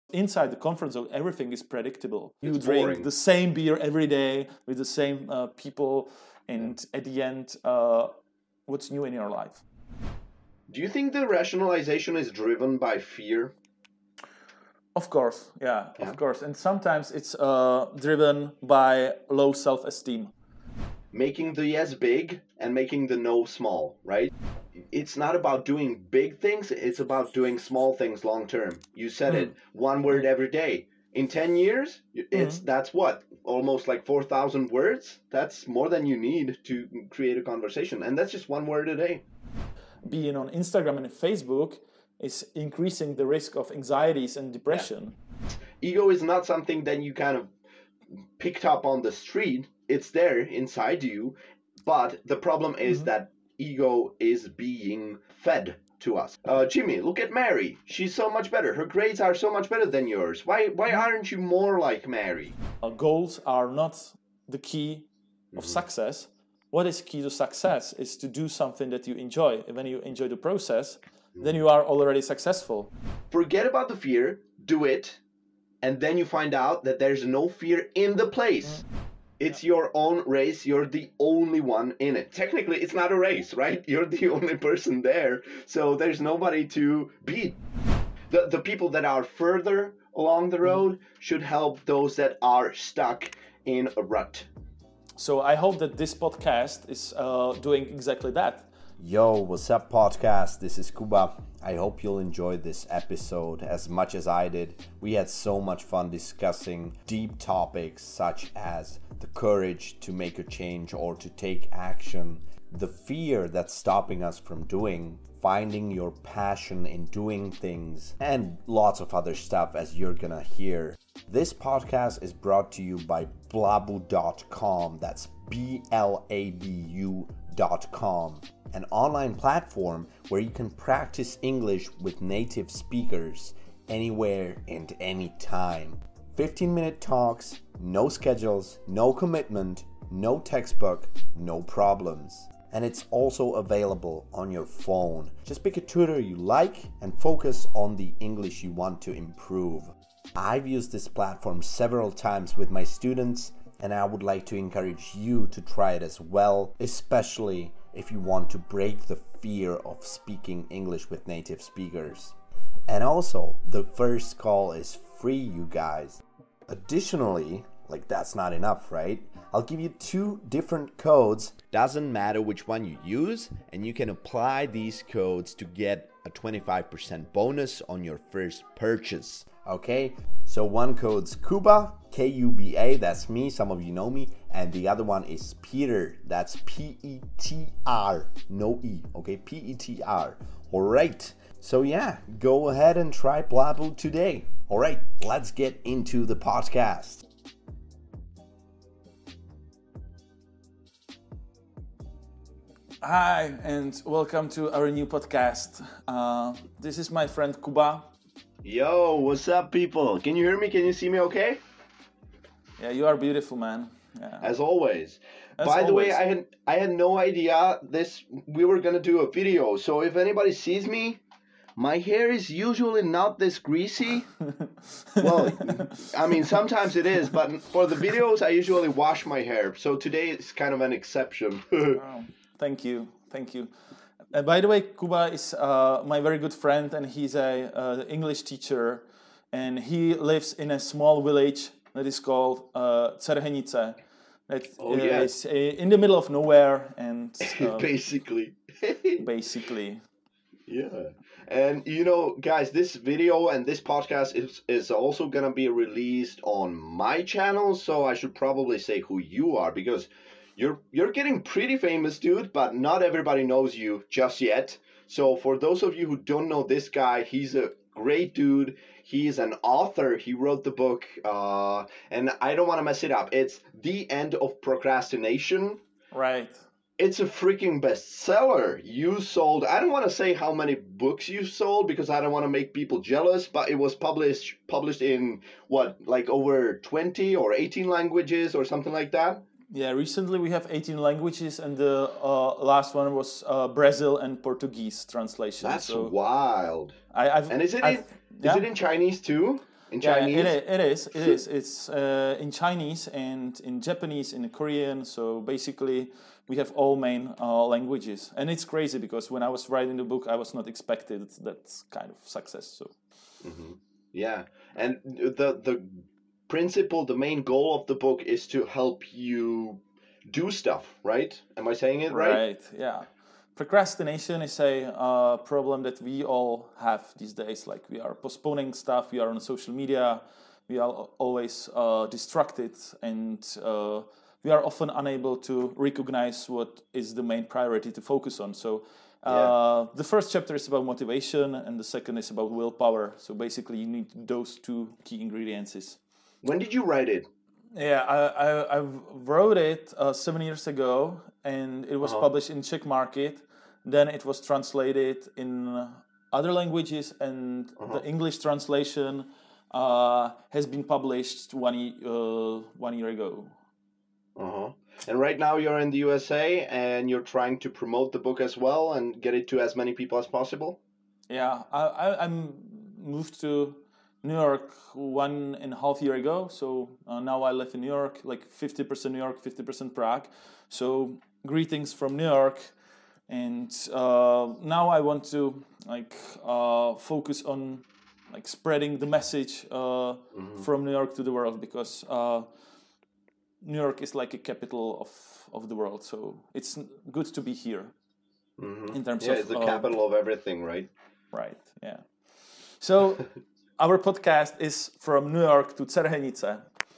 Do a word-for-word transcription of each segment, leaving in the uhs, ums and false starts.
Inside the comfort zone, everything is predictable. You It's drink boring. the same beer every day with the same uh, people, and at the end, uh, what's new in your life? Do you think the rationalization is driven by fear? Of course, yeah, Yeah. of course. And sometimes it's uh, driven by low self-esteem. Making the yes big and making the no small, right? It's not about doing big things, it's about doing small things long term. You said it, one word every day. In ten years, it's that's what? Almost like four thousand words? That's more than you need to create a conversation. And that's just one word a day. Being on Instagram and Facebook is increasing the risk of anxieties and depression. Ego is not something that you kind of picked up on the street. It's there inside you. But the problem is that ego is being fed to us. Uh, Jimmy, look at Mary. She's so much better. Her grades are so much better than yours. Why why aren't you more like Mary? Uh, goals are not the key of success. What is key to success is to do something that you enjoy. And when you enjoy the process, then you are already successful. Forget about the fear, do it, and then you find out that there's no fear in the place. It's your own race. You're the only one in it. Technically, it's not a race, right? You're the only person there. So there's nobody to beat. The, the people that are further along the road should help those that are stuck in a rut. So I hope that this podcast is uh, doing exactly that. Yo, what's up, podcast? This is Kuba. I hope you'll enjoy this episode as much as I did. We had so much fun discussing deep topics such as the courage to make a change or to take action, the fear that's stopping us from doing, finding your passion in doing things, and lots of other stuff as you're gonna hear. This podcast is brought to you by blabu dot com. That's B L A B U dot com. An online platform where you can practice English with native speakers anywhere and anytime. fifteen minute talks, no schedules, no commitment, no textbook, no problems. And it's also available on your phone. Just pick a tutor you like and focus on the English you want to improve. I've used this platform several times with my students, and I would like to encourage you to try it as well, especially if you want to break the fear of speaking English with native speakers. And also, the first call is free, you guys. Additionally, like that's not enough, right? I'll give you two different codes. Doesn't matter which one you use, and you can apply these codes to get a twenty-five percent bonus on your first purchase. Okay, so one code's Kuba, K U B A, that's me, some of you know me, and the other one is Peter, that's P E T R, no E, okay, P E T R. Alright, so yeah, go ahead and try Blabu today. Alright, let's get into the podcast. Hi, and welcome to our new podcast. Uh, this is my friend Kuba. Yo, what's up, people? Can you hear me? Can you see me okay? Yeah, you are beautiful, man. Yeah. As always. As By the way, always. I had I had no idea this we were gonna do a video. So if anybody sees me, my hair is usually not this greasy. Well, I mean sometimes it is, but for the videos I usually wash my hair. So today is kind of an exception. Oh, thank you, thank you. And by the way, Kuba is uh, my very good friend, and he's a uh, English teacher, and he lives in a small village that is called uh, Cerhenice. That Oh, yeah. is uh, in the middle of nowhere, and uh, Basically. basically, Yeah. And you know, guys, this video and this podcast is, is also gonna be released on my channel, so I should probably say who you are because you're you're getting pretty famous, dude, but not everybody knows you just yet. So for those of you who don't know this guy, he's a great dude. He's an author. He wrote the book, uh, and I don't want to mess it up. It's The End of Procrastination. right. It's a freaking bestseller. You sold, I don't want to say how many books you sold because I don't want to make people jealous, but it was published published in what, like over twenty or eighteen languages or something like that? Yeah, recently we have eighteen languages, and the uh, last one was uh, Brazil and Portuguese translation. That's so wild. I, I've, And is it I've, in, yeah? is it in Chinese too? in Yeah, Chinese? it, i- it is. It is. It's uh, in Chinese and in Japanese, in Korean. So basically, we have all main uh, languages, and it's crazy because when I was writing the book, I was not expected that kind of success. So Yeah, and the the principle, the main goal of the book is to help you do stuff, right? Am I saying it right? right, yeah. Procrastination is a uh, problem that we all have these days. Like we are postponing stuff, we are on social media, we are al- always uh, distracted, and uh, we are often unable to recognize what is the main priority to focus on. So uh, Yeah. the first chapter is about motivation, and the second is about willpower. So basically, you need those two key ingredients. When did you write it? Yeah, I, I, I wrote it uh, seven years ago, and it was Uh-huh. published in Czech market. Then it was translated in other languages, and Uh-huh. the English translation uh, has been published one, ye- uh, one year ago. Uh-huh. And right now you're in the U S A and you're trying to promote the book as well and get it to as many people as possible? Yeah, I, I, I moved to New York one and a half year ago. So uh, now I live in New York, like fifty percent New York, fifty percent Prague. So greetings from New York. And uh, now I want to like uh, focus on like spreading the message uh, from New York to the world, because uh, New York is like a capital of, of the world. So it's good to be here in terms Yeah, of it's the uh, capital of everything, right? right, yeah. So our podcast is from New York to Cerhenice.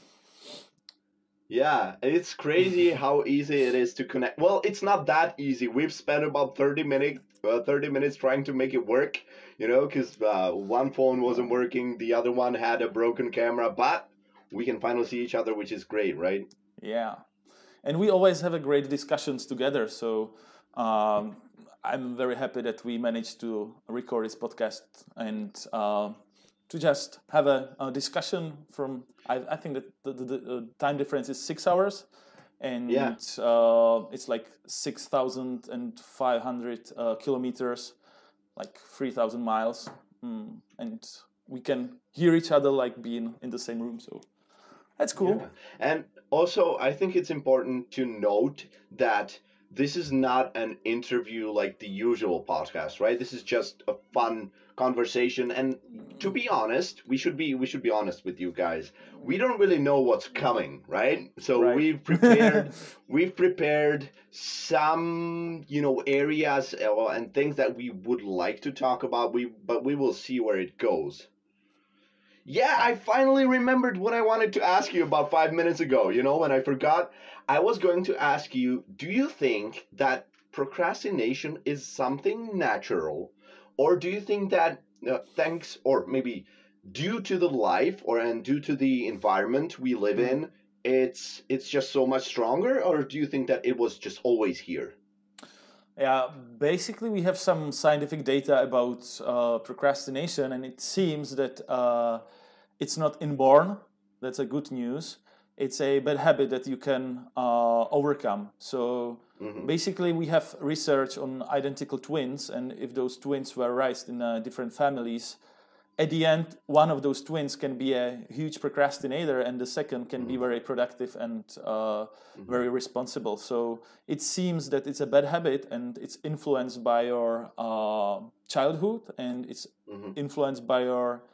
Yeah, it's crazy how easy it is to connect. Well, it's not that easy. We've spent about thirty minutes uh, thirty minutes trying to make it work, you know, because uh, one phone wasn't working, the other one had a broken camera, but we can finally see each other, which is great, right? Yeah, and we always have a great discussions together. So um, I'm very happy that we managed to record this podcast and uh, to just have a, a discussion. From I, I think that the, the, the time difference is six hours, and Yeah. uh, it's like six thousand and five hundred uh, kilometers, like three thousand miles, mm, and we can hear each other like being in the same room. So that's cool. Yeah. And also, I think it's important to note that this is not an interview like the usual podcast, right? This is just a fun conversation. And to be honest, we should be we should be honest with you guys. We don't really know what's coming, right? So Right. we've prepared we've prepared some, you know, areas uh, and things that we would like to talk about. We but we will see where it goes. Yeah, I finally remembered what I wanted to ask you about five minutes ago. You know, when I forgot, I was going to ask you, do you think that procrastination is something natural? Or do you think that uh, thanks, or maybe due to the life or and due to the environment we live in, it's it's just so much stronger? Or do you think that it was just always here? Yeah, basically, we have some scientific data about uh, procrastination, and it seems that uh, it's not inborn. That's a good news. It's a bad habit that you can uh, overcome. So basically, we have research on identical twins, and if those twins were raised in uh, different families, at the end, one of those twins can be a huge procrastinator, and the second can be very productive and uh, very responsible. So it seems that it's a bad habit, and it's influenced by your uh, childhood, and it's influenced by your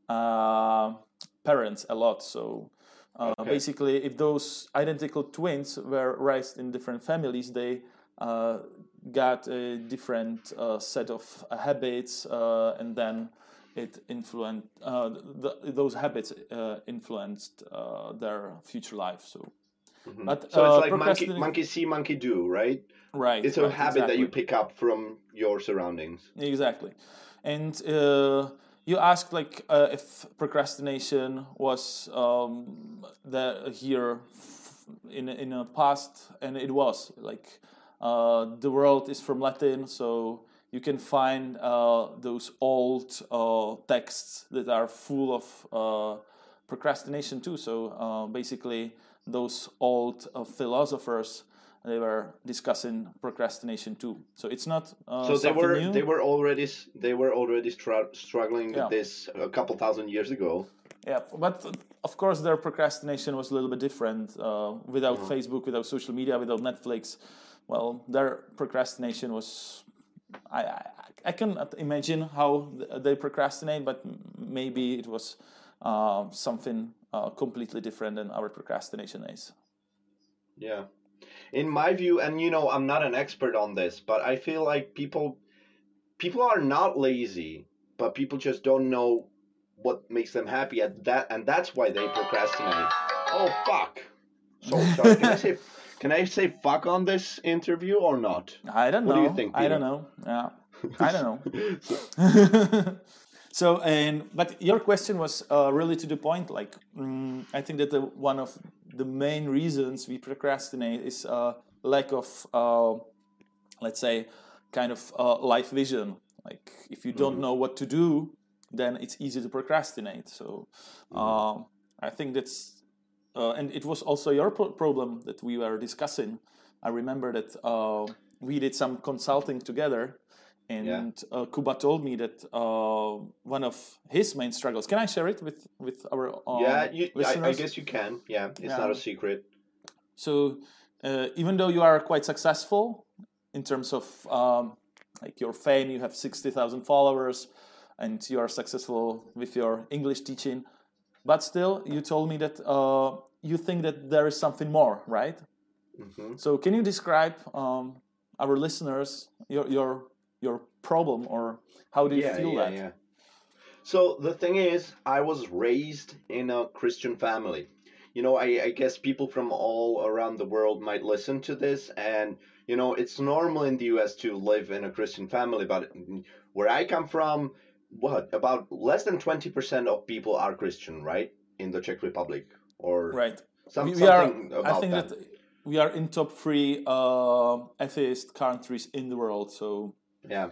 uh, parents a lot. So uh, Okay. basically, if those identical twins were raised in different families, they uh, got a different uh, set of uh, habits, uh, and then it influenced uh, the, those habits uh, influenced uh, their future life. So, but So uh, it's like monkey procrastinate- monkey see, monkey do, right? right? It's a right, habit that you exactly. pick up from your surroundings. Exactly. And uh, you asked like uh, if procrastination was um, the, here f- in in a past, and it was like uh, the world is from Latin, so you can find uh, those old uh, texts that are full of uh, procrastination too. So uh, basically, those old uh, philosophers, they were discussing procrastination too. So it's not uh, So they something were new. they were already s- they were already str- struggling with Yeah. this a couple thousand years ago. Yeah, but uh, of course their procrastination was a little bit different. Uh, without Mhm. Facebook, without social media, without Netflix, well, their procrastination was. I I, I cannot imagine how th- they procrastinate, but m- maybe it was uh, something uh, completely different than our procrastination is. Yeah. In my view, and you know, I'm not an expert on this, but I feel like people people are not lazy, but people just don't know what makes them happy at that, and that's why they procrastinate. Oh fuck! So sorry. Can I say can I say fuck on this interview or not? I don't What know. do you think, I don't Peter? know. Yeah, I don't know. So- So, and but your question was uh, really to the point. Like, mm, I think that the, one of the main reasons we procrastinate is uh, lack of, uh, let's say, kind of uh, life vision. Like, if you don't Mhm. know what to do, then it's easy to procrastinate. So, um, I think that's, uh, and it was also your pro- problem that we were discussing. I remember that uh, we did some consulting together, Yeah. and uh, Kuba told me that uh, one of his main struggles. Can I share it with with our Yeah, um, you, I, I listeners? guess you can. Yeah, it's Yeah. not a secret. So uh, even though you are quite successful in terms of um, like your fame, you have sixty thousand followers, and you are successful with your English teaching, but still, you told me that uh, you think that there is something more, right? Hmm. So can you describe um, our listeners your your your problem, or how do you Yeah, feel yeah, that? yeah. So the thing is, I was raised in a Christian family. You know, I, I guess people from all around the world might listen to this, and you know, it's normal in the U S to live in a Christian family, but where I come from, what about less than twenty percent of people are Christian, right? In the Czech Republic, or Right. some We, we are. something I about think that. that we are in top three uh, atheist countries in the world. So Yeah.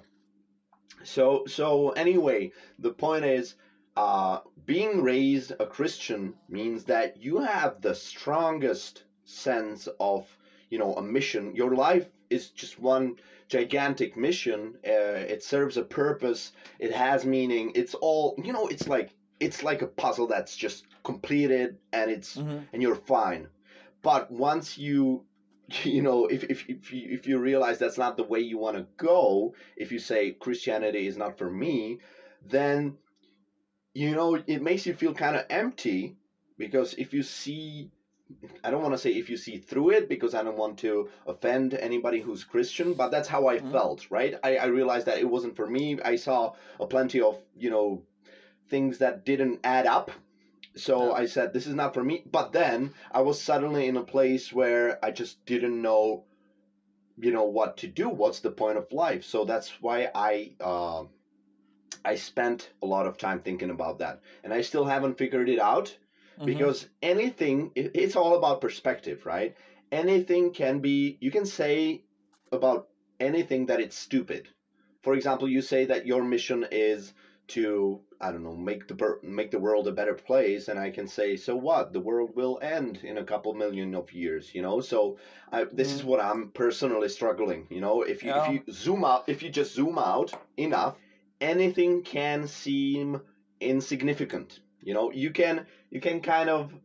So so anyway, the point is, uh, being raised a Christian means that you have the strongest sense of, you know, a mission. Your life is just one gigantic mission. Uh, it serves a purpose. It has meaning. It's all, you know. It's like it's like a puzzle that's just completed, and it's mm-hmm. and you're fine. But once you you know, if, if, if, you, if you realize that's not the way you want to go, if you say Christianity is not for me, then, you know, it makes you feel kind of empty, because if you see, I don't want to say if you see through it, because I don't want to offend anybody who's Christian, but that's how I Mm-hmm. felt, right? I, I realized that it wasn't for me. I saw a plenty of, you know, things that didn't add up. So Yeah. I said, this is not for me. But then I was suddenly in a place where I just didn't know, you know, what to do. What's the point of life? So that's why I uh, I spent a lot of time thinking about that, and I still haven't figured it out, Mm-hmm. because anything, it's all about perspective, right? Anything can be, you can say about anything that it's stupid. For example, you say that your mission is to, I don't know, make the make the world a better place, and I can say, so what? The world will end in a couple million of years, you know. So I, this is Mm-hmm. what I'm personally struggling. You know, if you if Yeah. you zoom out, if you just zoom out enough, anything can seem insignificant. You know, you can you can kind of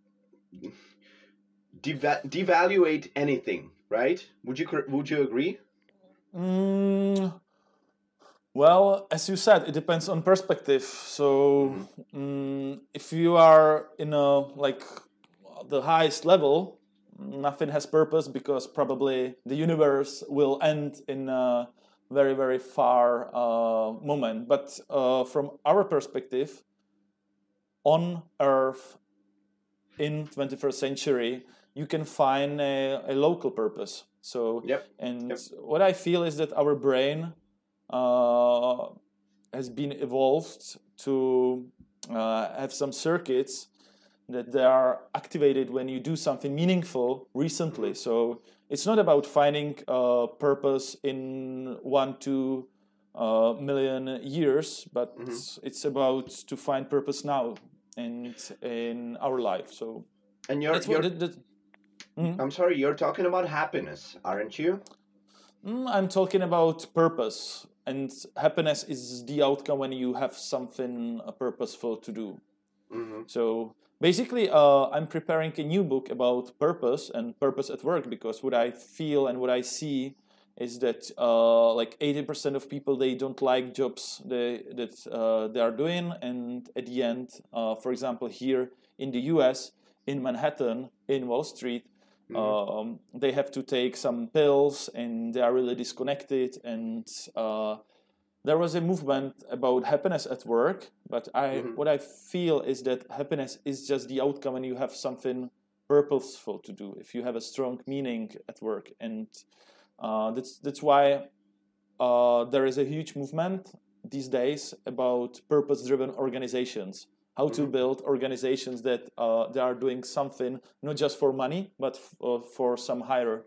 deva- devaluate anything, right? Would you would you agree? Mm, well, as you said, it depends on perspective. So, Mm-hmm. mm, if you are in a like the highest level, nothing has purpose because probably the universe will end in a very very far uh, moment. But uh, from our perspective, on Earth in twenty-first century, you can find a, a local purpose. So, Yep. and Yep. what I feel is that our brain uh, has been evolved to uh, have some circuits that they are activated when you do something meaningful recently. Mm-hmm. So it's not about finding a purpose in one, two uh, million years, but Mm-hmm. it's about to find purpose now and in our life. So And you're that's what you're that, that, mm, I'm sorry, you're talking about happiness, aren't you? mm, I'm talking about purpose, and happiness is the outcome when you have something uh, purposeful to do. Mm-hmm. So basically, uh, I'm preparing a new book about purpose and purpose at work, because what I feel and what I see is that uh, like eighty percent of people, they don't like jobs they, that uh, they are doing, and at the end, uh, for example, here in the U S, in Manhattan, in Wall Street, mm-hmm. um, they have to take some pills, and they are really disconnected, and uh, there was a movement about happiness at work, but I mm-hmm. what I feel is that happiness is just the outcome when you have something purposeful to do, if you have a strong meaning at work. And uh, that's that's why uh, there is a huge movement these days about purpose-driven organizations, how mm-hmm. to build organizations that uh, they are doing something not just for money, but f- uh, for some higher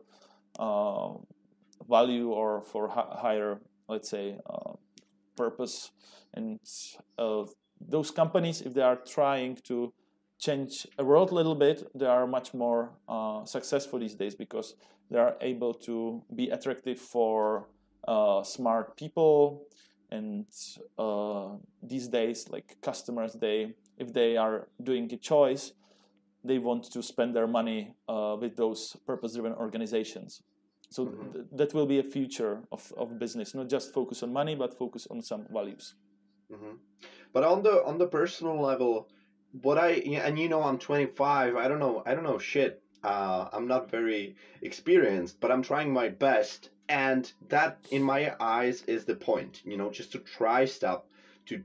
uh, value, or for hi- higher, let's say, uh, purpose. And uh, those companies, if they are trying to change a world a little bit, they are much more uh, successful these days, because they are able to be attractive for uh, smart people. And uh, these days, like customers, they if they are doing a choice, they want to spend their money uh, with those purpose-driven organizations. So mm-hmm. th- that will be a future of, of business, not just focus on money, but focus on some values. Mm-hmm. But on the on the personal level, what I and you know I'm twenty-five. I don't know. I don't know shit. Uh, I'm not very experienced, but I'm trying my best, and that, in my eyes, is the point. You know, just to try stuff, to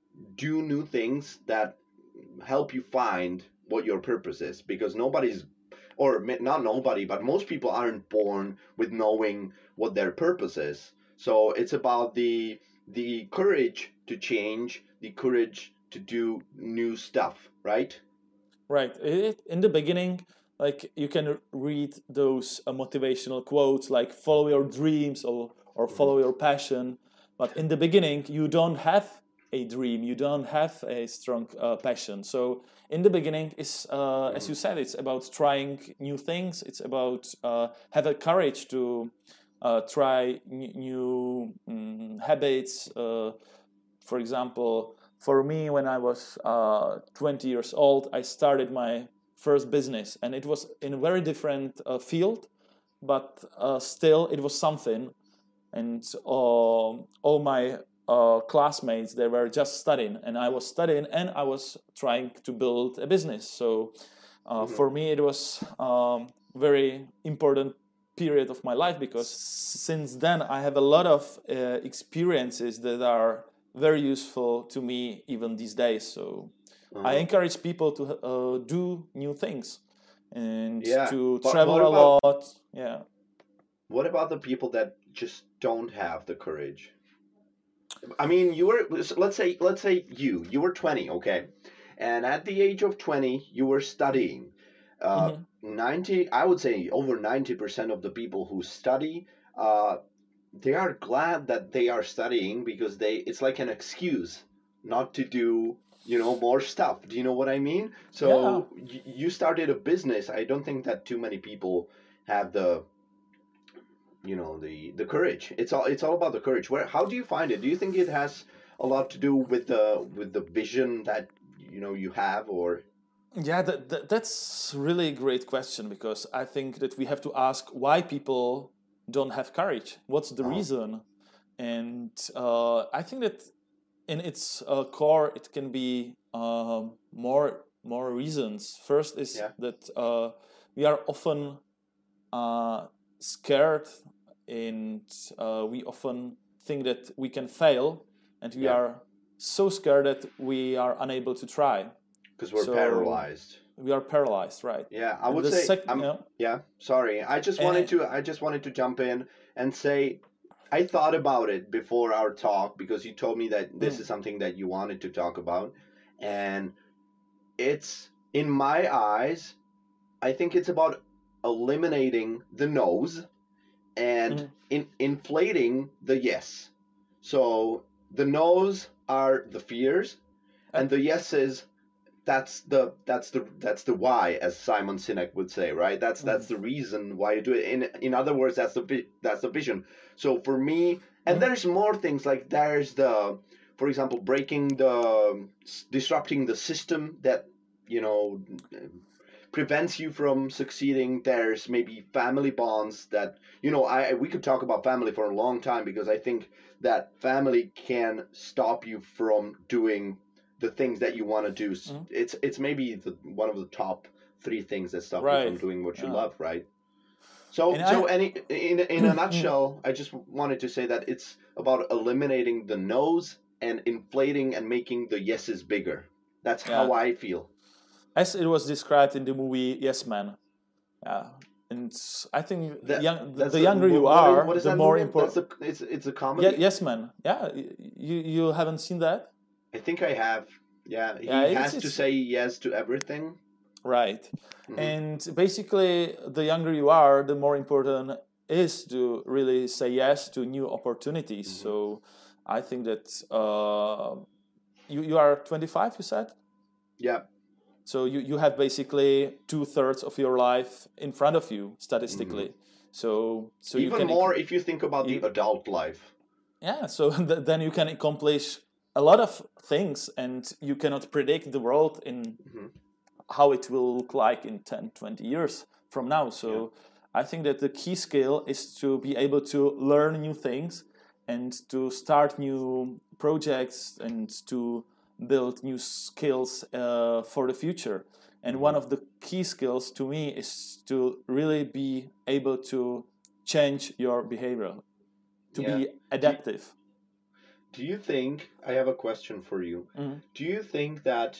do new things that help you find what your purpose is, because nobody's, or not nobody, but most people aren't born with knowing what their purpose is. So it's about the the courage to change, the courage to do new stuff, right? Right. It, in the beginning, like you can read those uh, motivational quotes like "follow your dreams" or or "follow your passion," but in the beginning, you don't have a dream, you don't have a strong uh, passion. So in the beginning, is uh, mm-hmm. as you said, it's about trying new things. It's about uh, have a courage to uh, try n- new um, habits. Uh, for example, for me, when I was uh, twenty years old, I started my first business, and it was in a very different uh, field, but uh, still it was something. And uh, all my uh, classmates, they were just studying, and I was studying, and I was trying to build a business. So uh, mm-hmm. for me, it was um, very important period of my life, because since then I have a lot of uh, experiences that are very useful to me even these days. So uh-huh. I encourage people to uh, do new things and yeah. to but travel a about, lot. Yeah. What about the people that just don't have the courage? I mean, you were, let's say, let's say you, you were twenty, okay? And at the age of twenty, you were studying. Uh, mm-hmm. ninety, I would say over ninety percent of the people who study, uh, they are glad that they are studying, because they, it's like an excuse not to do, you know, more stuff. Do you know what I mean? So yeah. y- you started a business. I don't think that too many people have the, you know, the the courage. It's all it's all about the courage. Where how do you find it? Do you think it has a lot to do with the with the vision that, you know, you have? Or yeah, that, that that's really a great question, because I think that we have to ask why people don't have courage. What's the uh-huh. reason? And uh, I think that in its uh, core, it can be uh, more more reasons. First is yeah. that uh, we are often uh, scared, and uh, we often think that we can fail, and we yeah. are so scared that we are unable to try. Because we're so paralyzed. We are paralyzed, right? Yeah, I would say. Sec- you know, yeah, sorry. I just wanted and, to. I just wanted to jump in and say, I thought about it before our talk, because you told me that this mm. is something that you wanted to talk about, and it's, in my eyes, I think it's about eliminating the no's and mm. in, inflating the yes. So the no's are the fears, and, and the yeses, that's the that's the that's the why, as Simon Sinek would say, right? That's mm. that's the reason why you do it. In in other words, that's the that's the vision. So for me, and mm. there's more things, like there's the for example, breaking the, disrupting the system that, you know, prevents you from succeeding. There's maybe family bonds that, you know, I we could talk about family for a long time, because I think that family can stop you from doing the things that you want to do. Mm-hmm. It's it's maybe the, one of the top three things that stop right. you from doing what you yeah. love, right? So, and so I, any, in in a nutshell, I just wanted to say that it's about eliminating the no's and inflating and making the yeses bigger. That's yeah. how I feel. As it was described in the movie Yes Man. Yeah. And I think that, young, the, the younger you are, what is the that more movie? important. That's a, it's, it's a comedy? Yeah, Yes Man. Yeah. You you haven't seen that? I think I have. Yeah. He yeah, has it's, to it's, say yes to everything. Right. Mm-hmm. And basically, the younger you are, the more important is to really say yes to new opportunities. Mm-hmm. So I think that uh, you, you are twenty-five, you said? Yeah. So you, you have basically two-thirds of your life in front of you, statistically. Mm-hmm. So so even you can more if you think about you, the adult life. Yeah, so th- then you can accomplish a lot of things, and you cannot predict the world in mm-hmm. how it will look like in ten, twenty years from now. So yeah. I think that the key skill is to be able to learn new things and to start new projects and to build new skills uh, for the future. And mm-hmm. one of the key skills to me is to really be able to change your behavior, to yeah. be adaptive. Do you, do you think, I have a question for you, mm-hmm. do you think that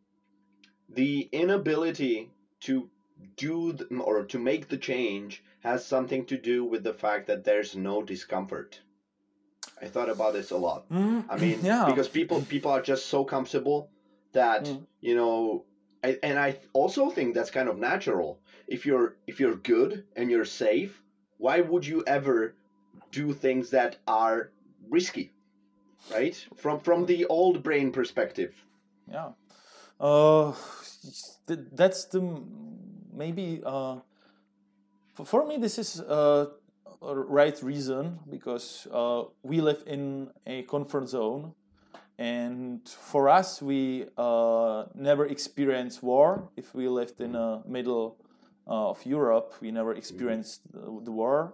the inability to do the, or to make the change has something to do with the fact that there's no discomfort? I thought about this a lot. Mm, I mean, yeah. because people people are just so comfortable that mm. you know, I, and I also think that's kind of natural. If you're if you're good and you're safe, why would you ever do things that are risky, right? From from the old brain perspective. Yeah. Uh, that's the maybe uh, for, for me this is uh, a right reason, because uh, we live in a comfort zone, and for us we uh, never experienced war. If we lived in the middle uh, of Europe, we never experienced the, the war.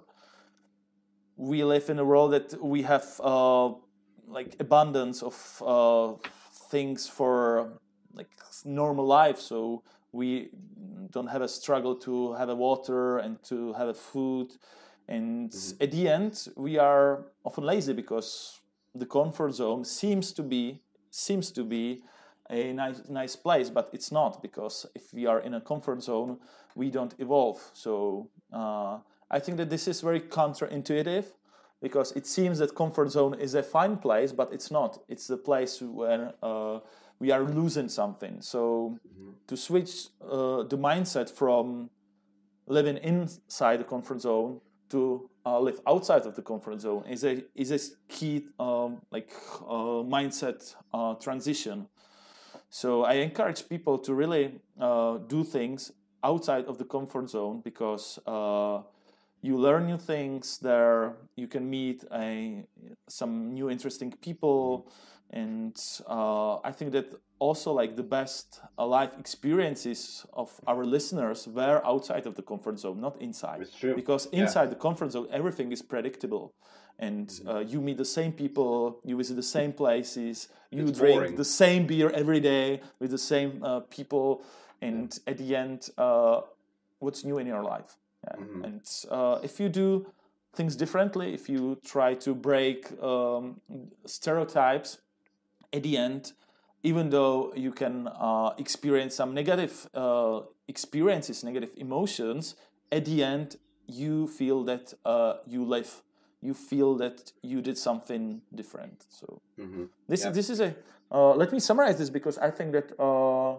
We live in a world that we have uh, like abundance of uh, things for like normal life, so we don't have a struggle to have a water and to have a food. And mm-hmm. at the end, we are often lazy because the comfort zone seems to be seems to be a nice nice place, but it's not, because if we are in a comfort zone, we don't evolve. So uh, I think that this is very counterintuitive, because it seems that comfort zone is a fine place, but it's not. It's the place where uh, we are losing something. So mm-hmm. to switch uh, the mindset from living inside the comfort zone to uh, live outside of the comfort zone is a is a key um, like uh, mindset uh, transition. So I encourage people to really uh, do things outside of the comfort zone, because uh, you learn new things there. You can meet a, some new interesting people, and uh, I think that also like the best uh, life experiences of our listeners were outside of the comfort zone, not inside. It's true. Because inside yeah. the comfort zone, everything is predictable, and mm-hmm. uh, you meet the same people, you visit the same places, you it's drink boring. the same beer every day with the same uh, people, and yeah. at the end, uh, what's new in your life? Yeah. Mm-hmm. And uh, if you do things differently, if you try to break um, stereotypes, at the end, even though you can uh, experience some negative uh, experiences, negative emotions, at the end, you feel that uh, you live. You feel that you did something different. So mm-hmm. this yeah. this is a. Uh, let me summarize this, because I think that uh,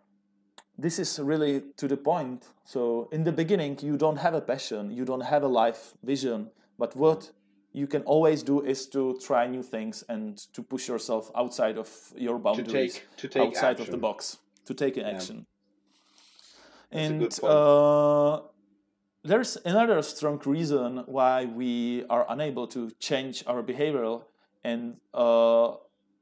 this is really to the point. So in the beginning, you don't have a passion, you don't have a life vision, but what you can always do is to try new things and to push yourself outside of your boundaries, to take, to take outside action. of the box, to take an yeah. action. That's and a good point. Uh, there's another strong reason why we are unable to change our behavior, and uh,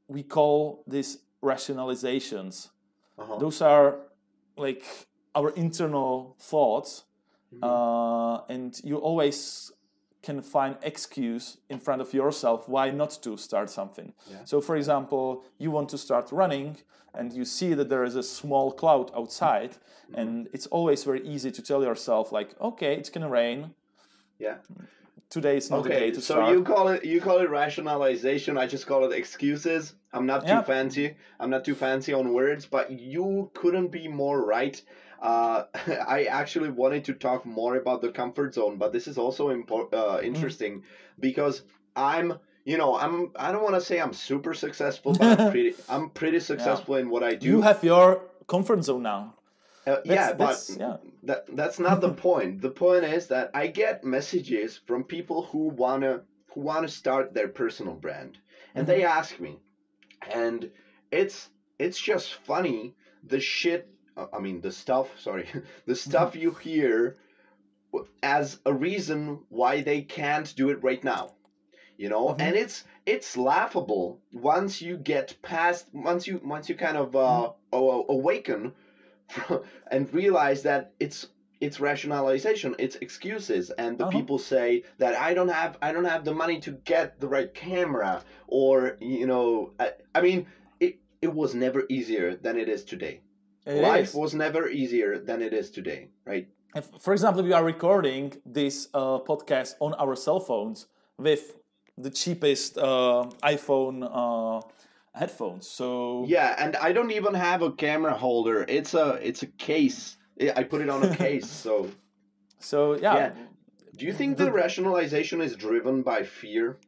we call these rationalizations. Uh-huh. Those are like our internal thoughts, Mhm. uh, and you always can find excuse in front of yourself why not to start something. Yeah. So, for example, you want to start running, and you see that there is a small cloud outside, Mhm. and it's always very easy to tell yourself, like, okay, it's gonna rain. Yeah. Today is not the day Okay, to so start. you call it you call it rationalization. I just call it excuses. I'm not too Yeah. fancy. I'm not too fancy on words, but you couldn't be more right. Uh, I actually wanted to talk more about the comfort zone, but this is also impor- uh, interesting because I'm, you know, I'm. I don't want to say I'm super successful, but I'm pretty. I'm pretty successful in what I do. You have your comfort zone now. Uh, yeah, but that's- yeah. that that's not the point. The point is that I get messages from people who wanna who wanna start their personal brand, and they ask me, and it's it's just funny the shit. uh, I mean the stuff. Sorry, the stuff you hear w- as a reason why they can't do it right now. You know, Mhm. and it's it's laughable once you get past once you once you kind of uh, aw- awaken and realize that it's it's rationalization, it's excuses, and the Uh-huh. people say that I don't have I don't have the money to get the right camera, or you know, I, I mean, it it was never easier than it is today. It Life is. was never easier than it is today, right? If, for example, we are recording this uh, podcast on our cell phones with the cheapest uh, iPhone uh, headphones. So Yeah, and I don't even have a camera holder. It's a it's a case. I I put it on a case, so so yeah, yeah. Do you think the, The- rationalization is driven by fear?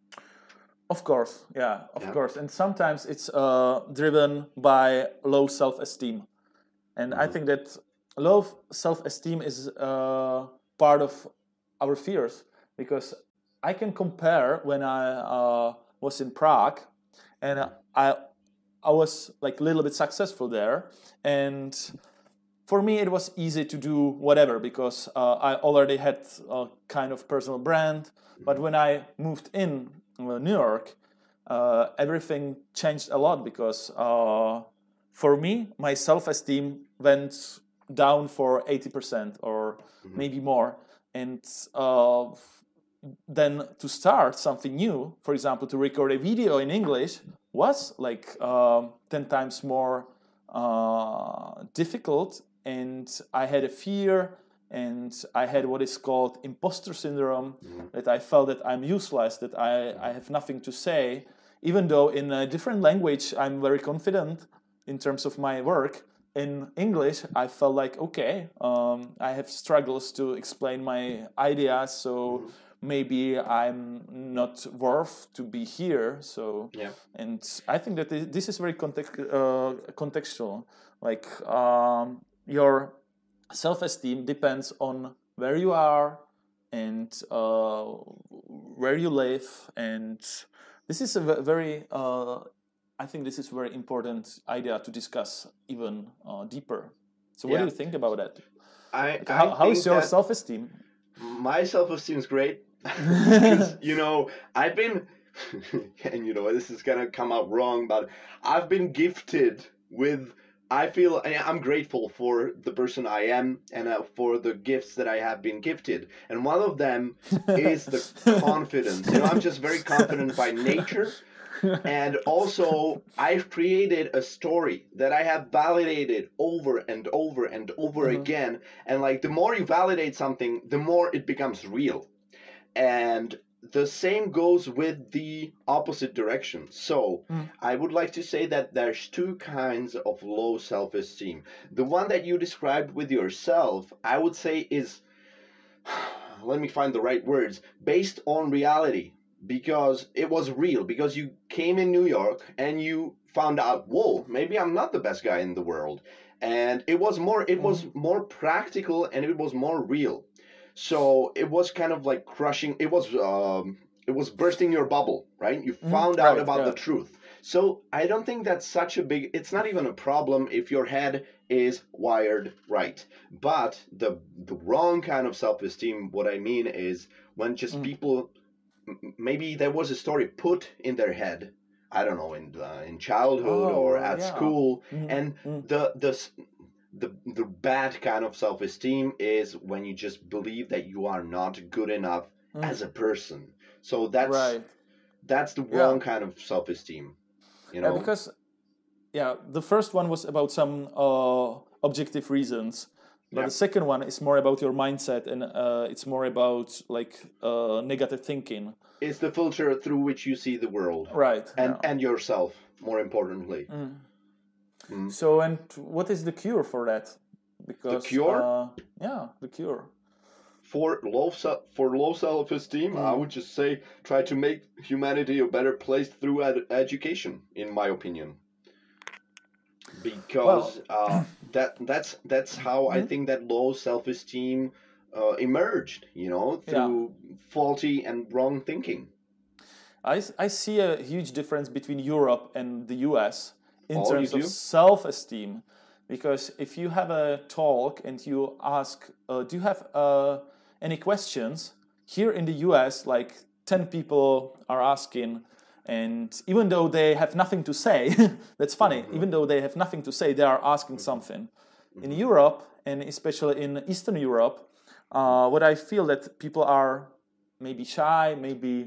of course, yeah, of Yeah. course, and sometimes it's uh, driven by low self-esteem, and I Mhm. think that low self-esteem is uh, part of our fears because I can compare when I uh, was in Prague, and I I was like a little bit successful there, and for me it was easy to do whatever because uh, I already had a kind of personal brand. But when I moved in uh, New York, uh, everything changed a lot because uh, for me my self-esteem went down for eighty percent or maybe more, and uh, then to start something new, for example, to record a video in English, was like um ten times more uh, difficult, and I had a fear, and I had what is called imposter syndrome, that I felt that I'm useless, that I, I have nothing to say, even though in a different language I'm very confident in terms of my work. In English, I felt like, okay, um, I have struggles to explain my ideas, so maybe I'm not worth to be here. So, Yeah. and I think that thi- this is very context, uh, contextual. Like um, your self-esteem depends on where you are and uh, where you live, and this is a ve- very uh, I think this is a very important idea to discuss even uh, deeper. So what do Yeah. you think about that? I, Like, how, I how is think your that self-esteem? my self-esteem is great because you know I've been and you know this is gonna come out wrong, but I've been gifted with I feel I- I'm grateful for the person I am and uh, for the gifts that I have been gifted, and one of them is the confidence. You know, I'm just very confident by nature. And also, I've created a story that I have validated over and over and over Mhm. again. And like, the more you validate something, the more it becomes real. And the same goes with the opposite direction. So, Mm. I would like to say that there's two kinds of low self esteem. The one that you described with yourself, I would say, is let me find the right words, based on reality, because it was real, because you came in New York and you found out, whoa, maybe I'm not the best guy in the world. And it was more it was more practical, and it was more real. So it was kind of like crushing, it was um it was bursting your bubble, right? You found out right, about the yeah. truth. So I don't think that's such a big, it's not even a problem if your head is wired right. But the the wrong kind of self-esteem, what I mean is when just Mm. people, m- maybe there was a story put in their head I don't know, in the, in childhood Oh, or uh, at yeah. school, Mhm, and mm, the the s- the the bad kind of self-esteem is when you just believe that you are not good enough mm. as a person. So that's Right. that's the Yeah. wrong kind of self-esteem, you Yeah, know. because yeah, the first one was about some uh, objective reasons, but Yeah, the second one is more about your mindset, and uh, it's more about like uh, negative thinking. it's the filter through which you see the world, Right. and Yeah. and yourself, more importantly. Mm. Mm. So, and what is the cure for that? The Because cure uh, yeah, the cure. for low se- for low self-esteem, I Mm. would just say try to make humanity a better place through ed- education, in my opinion, Well, because uh, that that's that's how I mm, think that low self-esteem uh, emerged. You know, yeah, through faulty and wrong thinking. I, s- I see a huge difference between Europe and the U S in Oh, you terms of do? self-esteem, because if you have a talk and you ask, uh, do you have uh, any questions? Here in the U S, like ten people are asking, and even though they have nothing to say, that's funny. Mm-hmm. Even though they have nothing to say, they are asking something. In Mm-hmm. Europe, and especially in Eastern Europe, uh, what I feel that people are maybe shy, maybe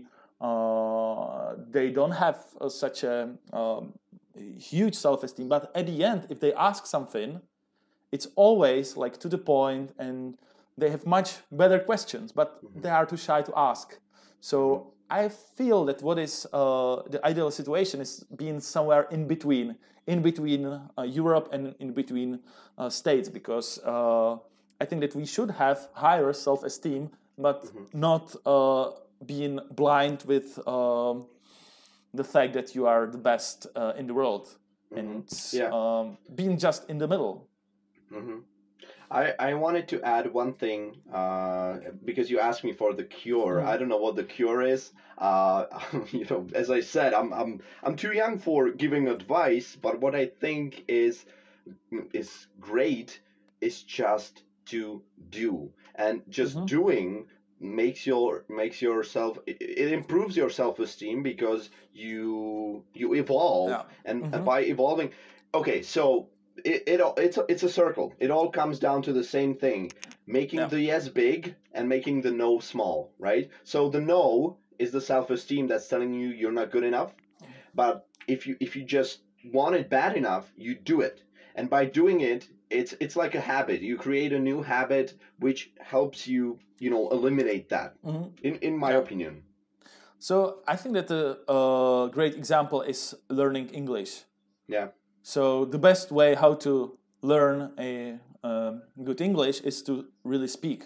uh, they don't have uh, such a um, huge self-esteem. But at the end, if they ask something, it's always like to the point, and they have much better questions, but Mm-hmm. they are too shy to ask. Mm-hmm. So I feel that what is uh, the ideal situation is being somewhere in between, in between uh, Europe and in between uh, states, because uh, I think that we should have higher self-esteem, but Mm-hmm. not uh, being blind with um, the fact that you are the best uh, in the world, Mm-hmm. and Yeah. um, being just in the middle. Mm-hmm. I, I wanted to add one thing uh, because you asked me for the cure. Mm. I don't know what the cure is. Uh, you know, as I said, I'm I'm I'm too young for giving advice. But what I think is is great is just to do, and just Mm-hmm. doing makes your makes yourself it, it improves your self-esteem because you you evolve, Yeah. and, and Mm-hmm. by evolving, okay, so it, it all- it's a, it's a circle. It all comes down to the same thing: making Yeah. the yes big and making the no small, right? So the no is the self-esteem that's telling you you're not good enough. But if you if you just want it bad enough, you do it, and by doing it, it's it's like a habit. You create a new habit which helps you, you know, eliminate that. Mm-hmm. In in my Yeah. opinion. So I think that the uh, great example is learning English. Yeah. So the best way how to learn a um, good English is to really speak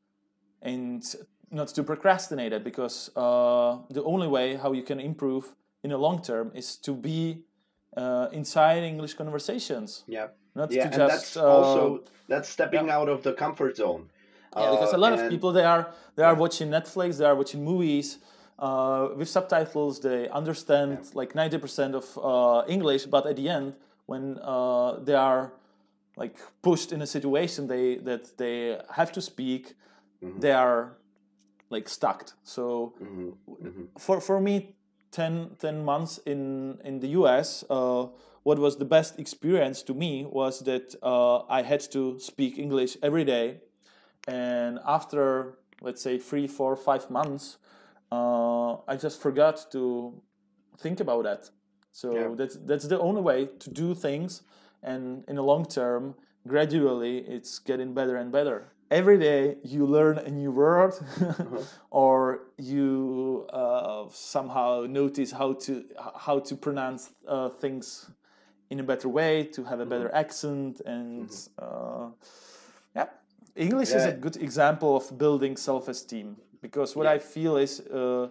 and not to procrastinate it, because uh, the only way how you can improve in the long term is to be uh, inside English conversations, Yeah. not Yeah, to and just that's uh, also that's yeah. stepping out of the comfort zone. Yeah, because Uh, a lot of and people they are they are yeah. watching Netflix, they are watching movies uh, with subtitles. They understand Yeah. like ninety percent of uh, English, but at the end, when uh, they are like pushed in a situation they that they have to speak, Mm-hmm. they are like stuck. So Mm-hmm. Mm-hmm. for for me, ten, ten months in in the U S, uh, what was the best experience to me was that uh, I had to speak English every day, and after let's say three, four, five months, uh, I just forgot to think about that. Yeah. So that's that's the only way to do things, and in the long term, gradually, it's getting better and better. Every day you learn a new word, Uh-huh. or you uh, somehow notice how to how to pronounce uh, things in a better way, to have a Mm-hmm. better accent, and Mm-hmm. uh, yeah, English is a Yeah. good example of building self-esteem, because what Yeah. I feel is uh,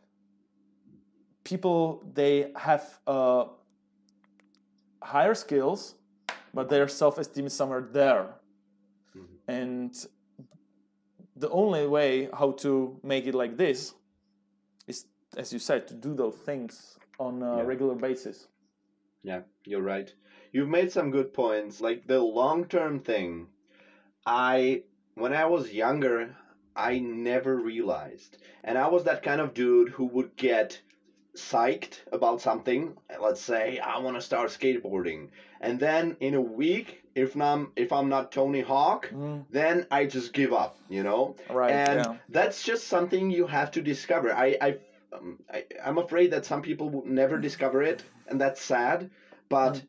people they have uh, higher skills, but their self-esteem is somewhere there, Mm-hmm. and the only way how to make it like this is, as you said, to do those things on a Yeah. regular basis. Yeah, you're right. You've made some good points. Like the long term thing, I, when I was younger, I never realized. And I was that kind of dude who would get psyched about something. Let's say I want to start skateboarding, and then in a week, if I'm if I'm not Tony Hawk, Mm. then I just give up. You know, Right. and Yeah. that's just something you have to discover. I I, um, I I'm afraid that some people will never discover it, and that's sad. But Mm.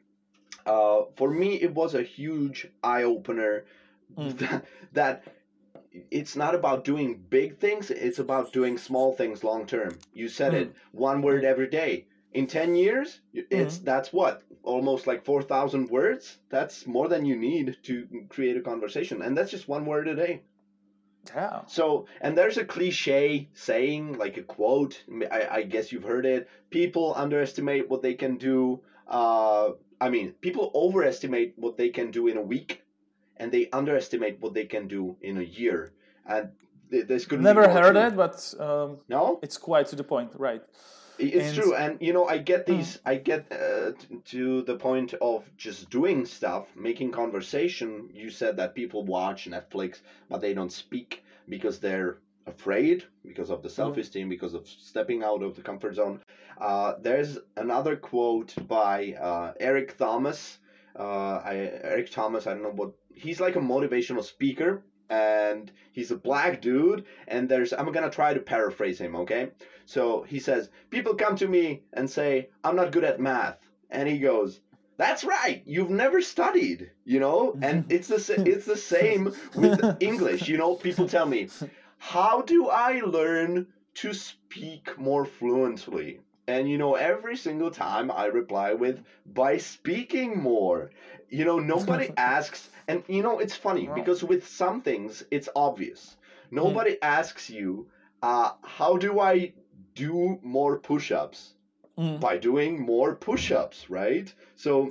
uh, for me, it was a huge eye opener. Mm. That, that it's not about doing big things, it's about doing small things long term. You said it, one word every day. In ten years, it's that's what, almost like four thousand words. That's more than you need to create a conversation, and that's just one word a day. Yeah. So, and there's a cliche saying, like a quote, I, I guess you've heard it: people underestimate what they can do. Uh, I mean, people overestimate what they can do in a week, and they underestimate what they can do in a year. And th- this could Never heard it, but um, No, it's quite to the point, right? it's And- true. And you know, I get these. I get uh, t- to the point of just doing stuff, making conversation. You said that people watch Netflix, but they don't speak because they're afraid, because of the self-esteem, because of stepping out of the comfort zone. Uh, there's another quote by uh, Eric Thomas. Uh, I, Eric Thomas, I don't know what, he's like a motivational speaker, and he's a black dude, and there's, I'm gonna try to paraphrase him, okay? So he says, people come to me and say, I'm not good at math. And he goes, that's right, you've never studied, you know? And it's the, sa- it's the same with English, you know? People tell me, how do I learn to speak more fluently? And, you know, every single time I reply with, by speaking more. You know, nobody asks, and, you know, it's funny, because with some things, it's obvious. Nobody asks you, uh, how do I do more push-ups? Mm. By doing more push-ups, right? So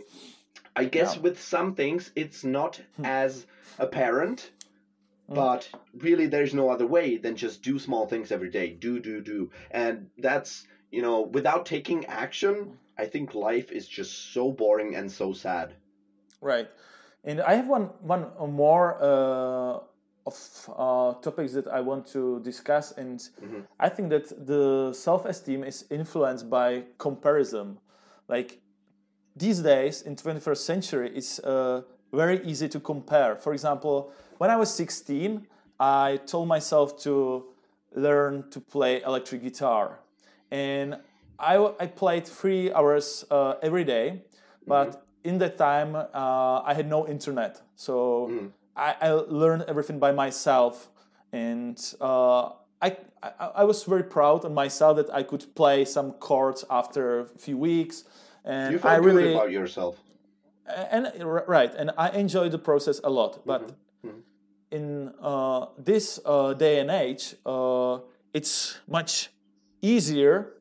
I guess Yeah. with some things, it's not as apparent, but really there's no other way than just do small things every day. Do, do, do. And that's, you know, without taking action, I think life is just so boring and so sad. Right. And I have one one more uh, of uh, topics that I want to discuss, and Mhm. I think that the self-esteem is influenced by comparison. Like these days in twenty-first century, it's uh, very easy to compare. For example, when I was sixteen, I told myself to learn to play electric guitar, and I, I played three hours uh, every day, but in that time uh, I had no internet, so I, I learned everything by myself, and uh, I, I I was very proud of myself that I could play some chords after a few weeks, and You I felt really good about yourself. and right, and I enjoy the process a lot. But in uh, this uh, day and age, uh, it's much easier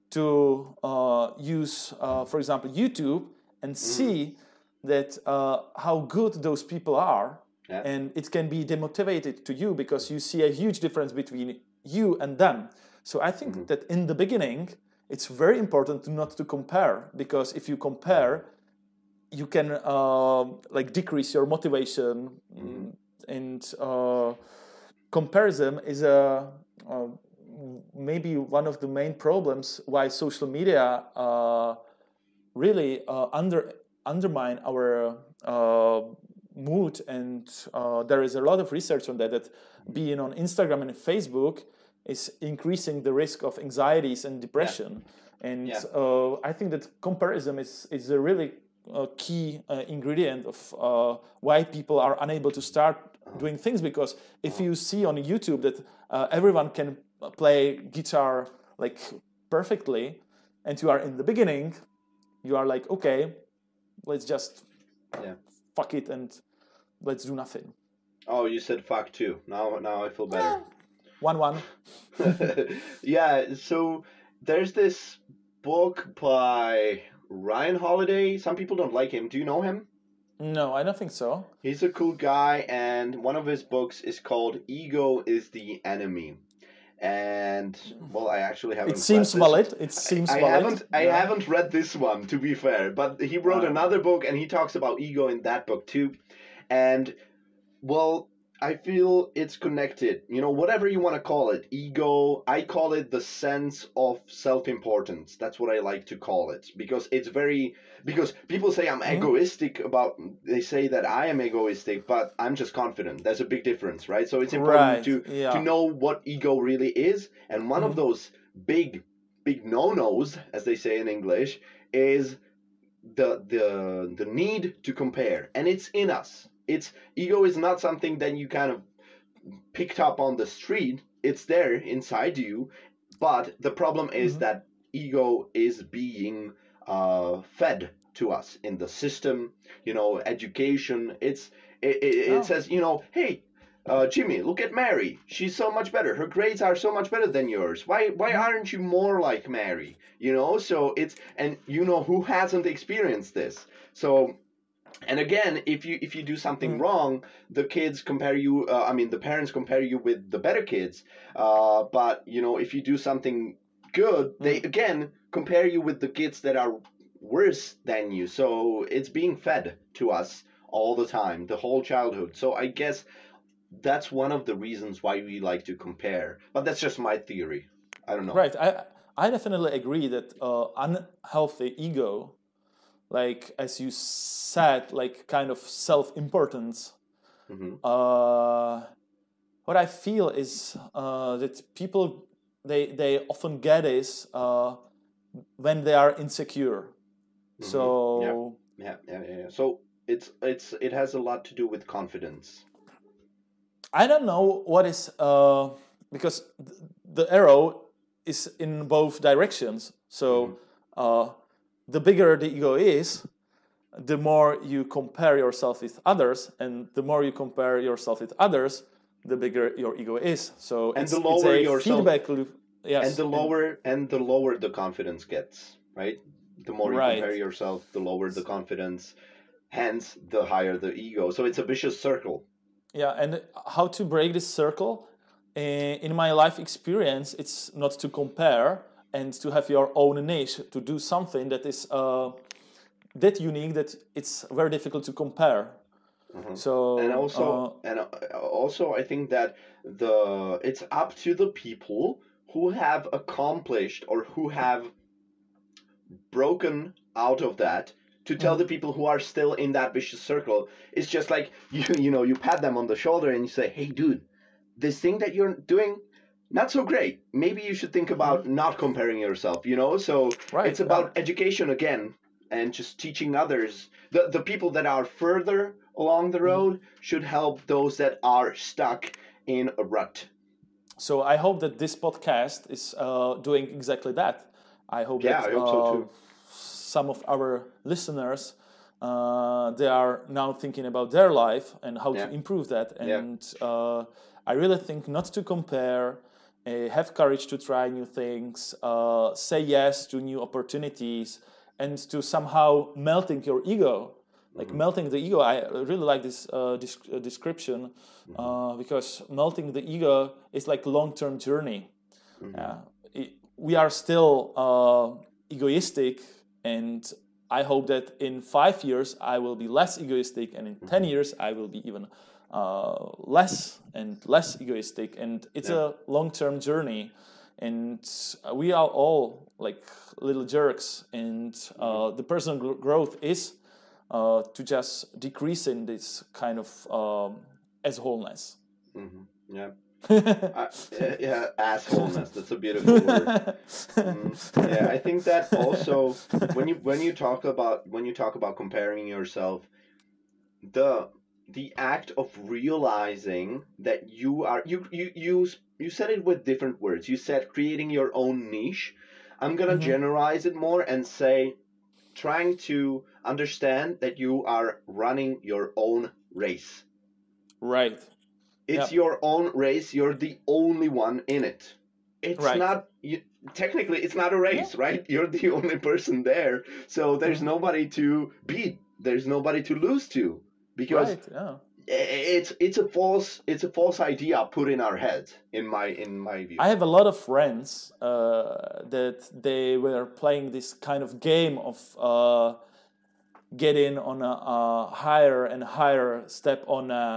to uh, use, uh, for example, YouTube and see that uh, how good those people are, Yeah. and it can be demotivated to you because you see a huge difference between you and them. So I think that in the beginning, it's very important to not to compare, because if you compare, you can uh, like decrease your motivation, and uh, comparison is a uh, maybe one of the main problems why social media uh, really uh, under undermine our uh, mood, and uh, there is a lot of research on that, that being on Instagram and Facebook is increasing the risk of anxieties and depression. And Yeah. uh, I think that comparison is, is a really uh, key uh, ingredient of uh, why people are unable to start doing things, because if you see on YouTube that uh, everyone can play guitar like perfectly, and you are in the beginning, you are like, okay, let's just Yeah. fuck it and let's do nothing. Oh, you said fuck too. Now, now I feel better. One one. Yeah, so there's this book by Ryan Holiday. Some people don't like him. Do you know him? No, I don't think so. He's a cool guy, and one of his books is called Ego is the Enemy. And, well, I actually haven't It seems read this. valid. It seems I valid. haven't I Yeah. haven't read this one, to be fair, but he wrote Wow. another book and he talks about ego in that book too. And well, I feel it's connected. You know, whatever you want to call it, ego. I call it the sense of self-importance. That's what I like to call it because it's very because people say I'm Mm-hmm. egoistic about. They say that I am egoistic, but I'm just confident. There's a big difference, right? So it's important Right. to to Yeah. know what ego really is, and one of Mm-hmm. those big big no-nos, as they say in English, is the the the need to compare, and it's in us. It's ego is not something that you kind of picked up on the street. It's there inside you, but the problem is Mm-hmm. that ego is being uh, fed to us in the system. You know, education. It's it, it, it Oh. says, you know, hey, uh, Jimmy, look at Mary. She's so much better. Her grades are so much better than yours. Why why Mm-hmm. aren't you more like Mary? You know, so it's and you know who hasn't experienced this. So and again, if you if you do something Mm-hmm. wrong, the kids compare you. Uh, I mean, the parents compare you with the better kids. Uh, but you know, if you do something good, they Mm-hmm. again compare you with the kids that are worse than you. So it's being fed to us all the time, the whole childhood. So I guess that's one of the reasons why we like to compare. But that's just my theory. I don't know. Right. I I definitely agree that uh, unhealthy ego, like as you said, like kind of self-importance. Hmm. Uh, what I feel is uh, that people they they often get is uh, when they are insecure. Hmm. Yeah. So Yeah. Yeah. Yeah. Yeah. So it's it's it has a lot to do with confidence. I don't know what is uh, because th- the arrow is in both directions. Hmm. So uh, the bigger the ego is, the more you compare yourself with others, and the more you compare yourself with others, the bigger your ego is. So And the it's it's lower a yourself feedback loop. and Yes, the and lower and the lower the confidence gets, right? The more you right. compare yourself, the lower the confidence, hence the higher the ego. So it's a vicious circle. Yeah, and how to break this circle? Eh, In my life experience, it's not to compare and to have your own niche, to do something that is uh, that unique that it's very difficult to compare. Mhm. And So also uh, and uh, also I think that the it's up to the people who have accomplished or who have broken out of that to tell mhm. the people who are still in that vicious circle. It's just like you you know you pat them on the shoulder and you say, hey dude, this thing that you're doing, not so great. Maybe you should think about not comparing yourself, you know? So Right, it's yeah. about education again and just teaching others. The, the people that are further along the Mhm. road should help those that are stuck in a rut. So I hope that this podcast is uh, doing exactly that. I hope Yeah, that I hope so uh, too. some of our listeners uh, they are now thinking about their life and how to Yeah, improve that. yeah. And uh, I really think not to compare, uh, have courage to try new things, uh, say yes to new opportunities, and to somehow melting your ego. Like Hmm. melting the ego, I really like this uh, dis- uh, description Hmm. uh, because melting the ego is like long-term journey. Hmm. Uh, it, we are still uh, egoistic, and I hope that in five years I will be less egoistic, and in ten Hmm. years I will be even uh, less and less egoistic. And it's Yeah. a long-term journey, and we are all like little jerks, and Hmm. uh, the personal gr- growth is uh, to just decrease in this kind of um, assholeness. Hmm. Yeah. Uh, yeah, yeah, assholeness. That's a beautiful word. Mm, yeah, I think that also when you when you talk about when you talk about comparing yourself, the the act of realizing that you are you you you you said it with different words. You said creating your own niche. I'm gonna Mhm. generalize it more and say trying to understand that you are running your own race. Right. It's Yep. your own race. You're the only one in it. It's Right. not you, technically it's not a Yeah. race, right? You're the only person there, so there's Mhm. nobody to beat. There's nobody to lose to because Right. Yeah. it's it's a false it's a false idea put in our heads. In my in my view. I have a lot of friends uh, that they were playing this kind of game of uh, getting on a, a higher and higher step on a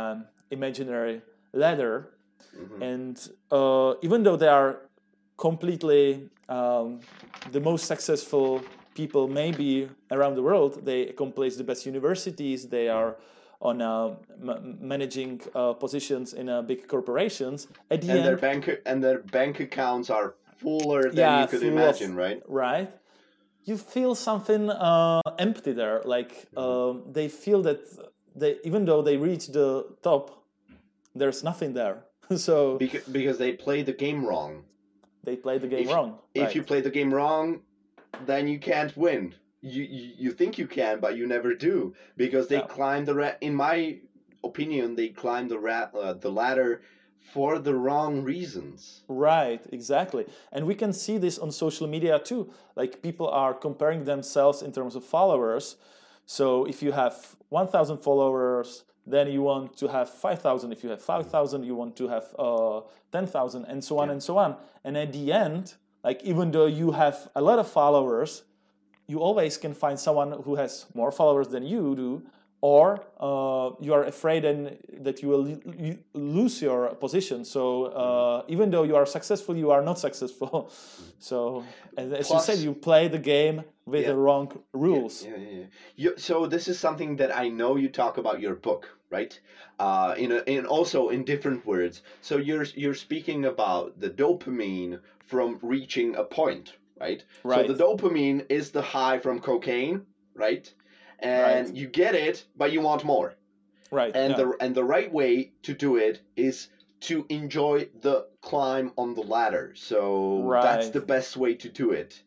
imaginary ladder. Mhm. And uh, even though they are completely um, the most successful people maybe around the world, they accomplish the best universities, they are on uh, m- managing uh, positions in uh, big corporations. At the And end, their bank and their bank accounts are fuller than yeah, you could full imagine, of, right? right? You feel something uh, empty there. Like um, they feel that they, even though they reach the top, there's nothing there. So Because because they play the game wrong. they play the game If wrong. if Right. you play the game wrong, then you can't win. You you, you think you can, but you never do because they Yeah. climb the ra- in my opinion they climb the ra- uh, the ladder for the wrong reasons. Right, exactly. And we can see this on social media too. Like people are comparing themselves in terms of followers. So if you have one thousand followers, then you want to have five thousand. If you have five thousand, you want to have uh, ten thousand, and so on Yeah. and so on. And at the end, like even though you have a lot of followers, you always can find someone who has more followers than you do, or uh, you are afraid and that you will lo- you lose your position. So uh, even though you are successful, you are not successful. So as, as you Plus- said, you play the game with Yeah. the wrong rules. Yeah, yeah, yeah. You, so this is something that I know you talk about your book, right? Uh, in a, in also in different words. So you're you're speaking about the dopamine from reaching a point, right? Right. So the dopamine is the high from cocaine, right? And Right. you get it, but you want more. Right. And yeah. the and the right way to do it is to enjoy the climb on the ladder. So that's Right. the best way to do it.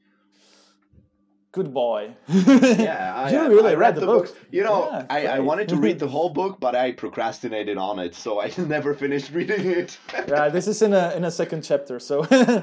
Good boy. Yeah, I, you I- really I read the book. You know, Yeah, I, I great. wanted to read the whole book, but I procrastinated on it, so I never finished reading it. Yeah, this is in a in a second chapter. So,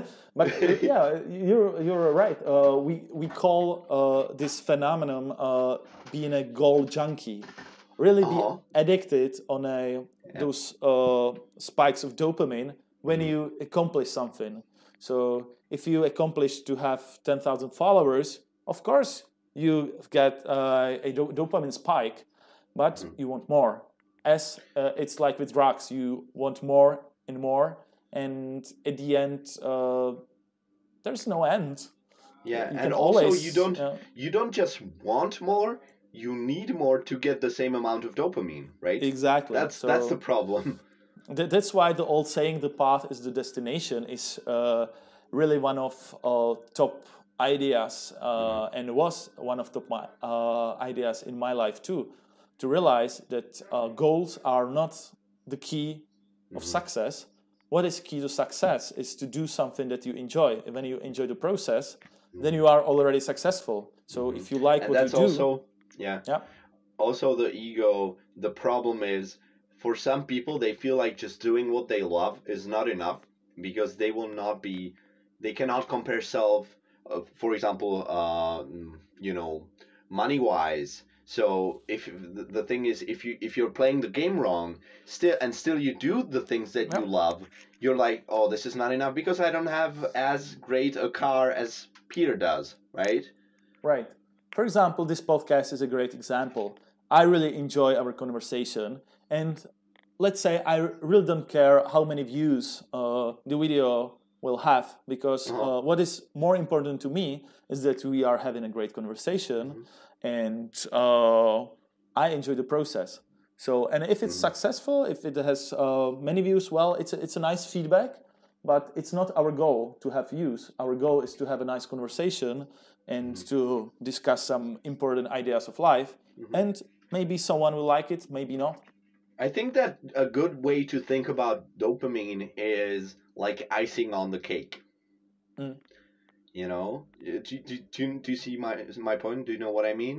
but yeah, you're you're right. Uh, we we call uh, this phenomenon uh, being a goal junkie. Really, Uh-huh. be addicted on a those uh, spikes of dopamine when Mm-hmm. you accomplish something. So, if you accomplish to have ten thousand followers, of course you get uh, a do- dopamine spike, but Mm-hmm. you want more. As uh, it's like with drugs, you want more and more, and at the end, uh, there's no end. Yeah, You and can also always, you don't yeah. you don't just want more, you need more to get the same amount of dopamine, right? Exactly. That's So that's the problem. th- that's why the old saying, "The path is the destination," is uh, really one of uh, top ideas, uh, and was one of top my, uh, ideas in my life too. To realize that uh, goals are not the key of success. What is key to success is to do something that you enjoy. And when you enjoy the process, then you are already successful. So if you like And what that's you do, also yeah. yeah, Also the ego, the problem is for some people they feel like just doing what they love is not enough because they will not be they cannot compare self uh, for example uh, you know money wise. So if the, the thing is if you if you're playing the game wrong still and still you do the things that you Yeah. love, you're like, oh, this is not enough because I don't have as great a car as Peter does, right? right. For example, this podcast is a great example. I really enjoy our conversation, and let's say I really don't care how many views uh, the video will have, because uh, what is more important to me is that we are having a great conversation, and uh, I enjoy the process. So, and if it's successful, if it has uh, many views, well, it's a, it's a nice feedback, but it's not our goal to have views. Our goal is to have a nice conversation and to discuss some important ideas of life, and maybe someone will like it, maybe not. I think that a good way to think about dopamine is like icing on the cake. Mm. You know, Uh, do, do, do, do you see my my point? Do you know what I mean?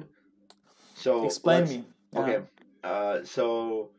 So Explain let's- me. Okay, Yeah. uh, so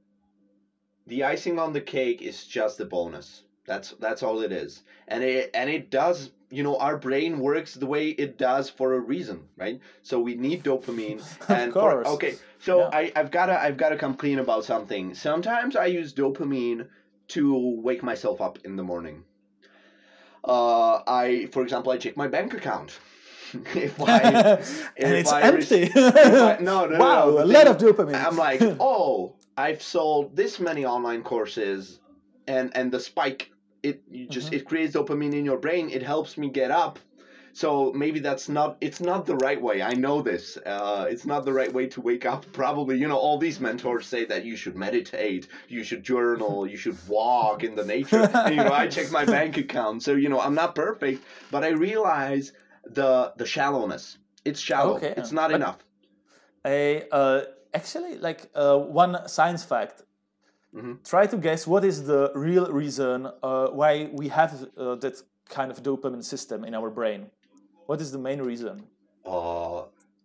the icing on the cake is just a bonus. That's that's all it is, and it and it does. You know, our brain works the way it does for a reason, right? So we need dopamine. and course. For, okay, so Yeah. I I've gotta I've gotta come clean about something. Sometimes I use dopamine to wake myself up in the morning. Uh, I, for example, I check my bank account. if I and if it's I empty. if I, no, no, wow, no, no. a The lot thing- of dopamine. I'm like, oh, I've sold this many online courses, and and the spike, it you just Mhm. it creates dopamine in your brain. It helps me get up. So maybe that's not. It's not the right way. I know this. Uh, it's not the right way to wake up. Probably, you know, all these mentors say that you should meditate, you should journal, you should walk in the nature. And, you know, I check my bank account. So you know, I'm not perfect, but I realize the the shallowness. It's shallow. Okay, It's not but- enough. A, uh, actually, like uh, one science fact. Mhm. Try to guess what is the real reason uh, why we have uh, that kind of dopamine system in our brain. What is the main reason? Uh,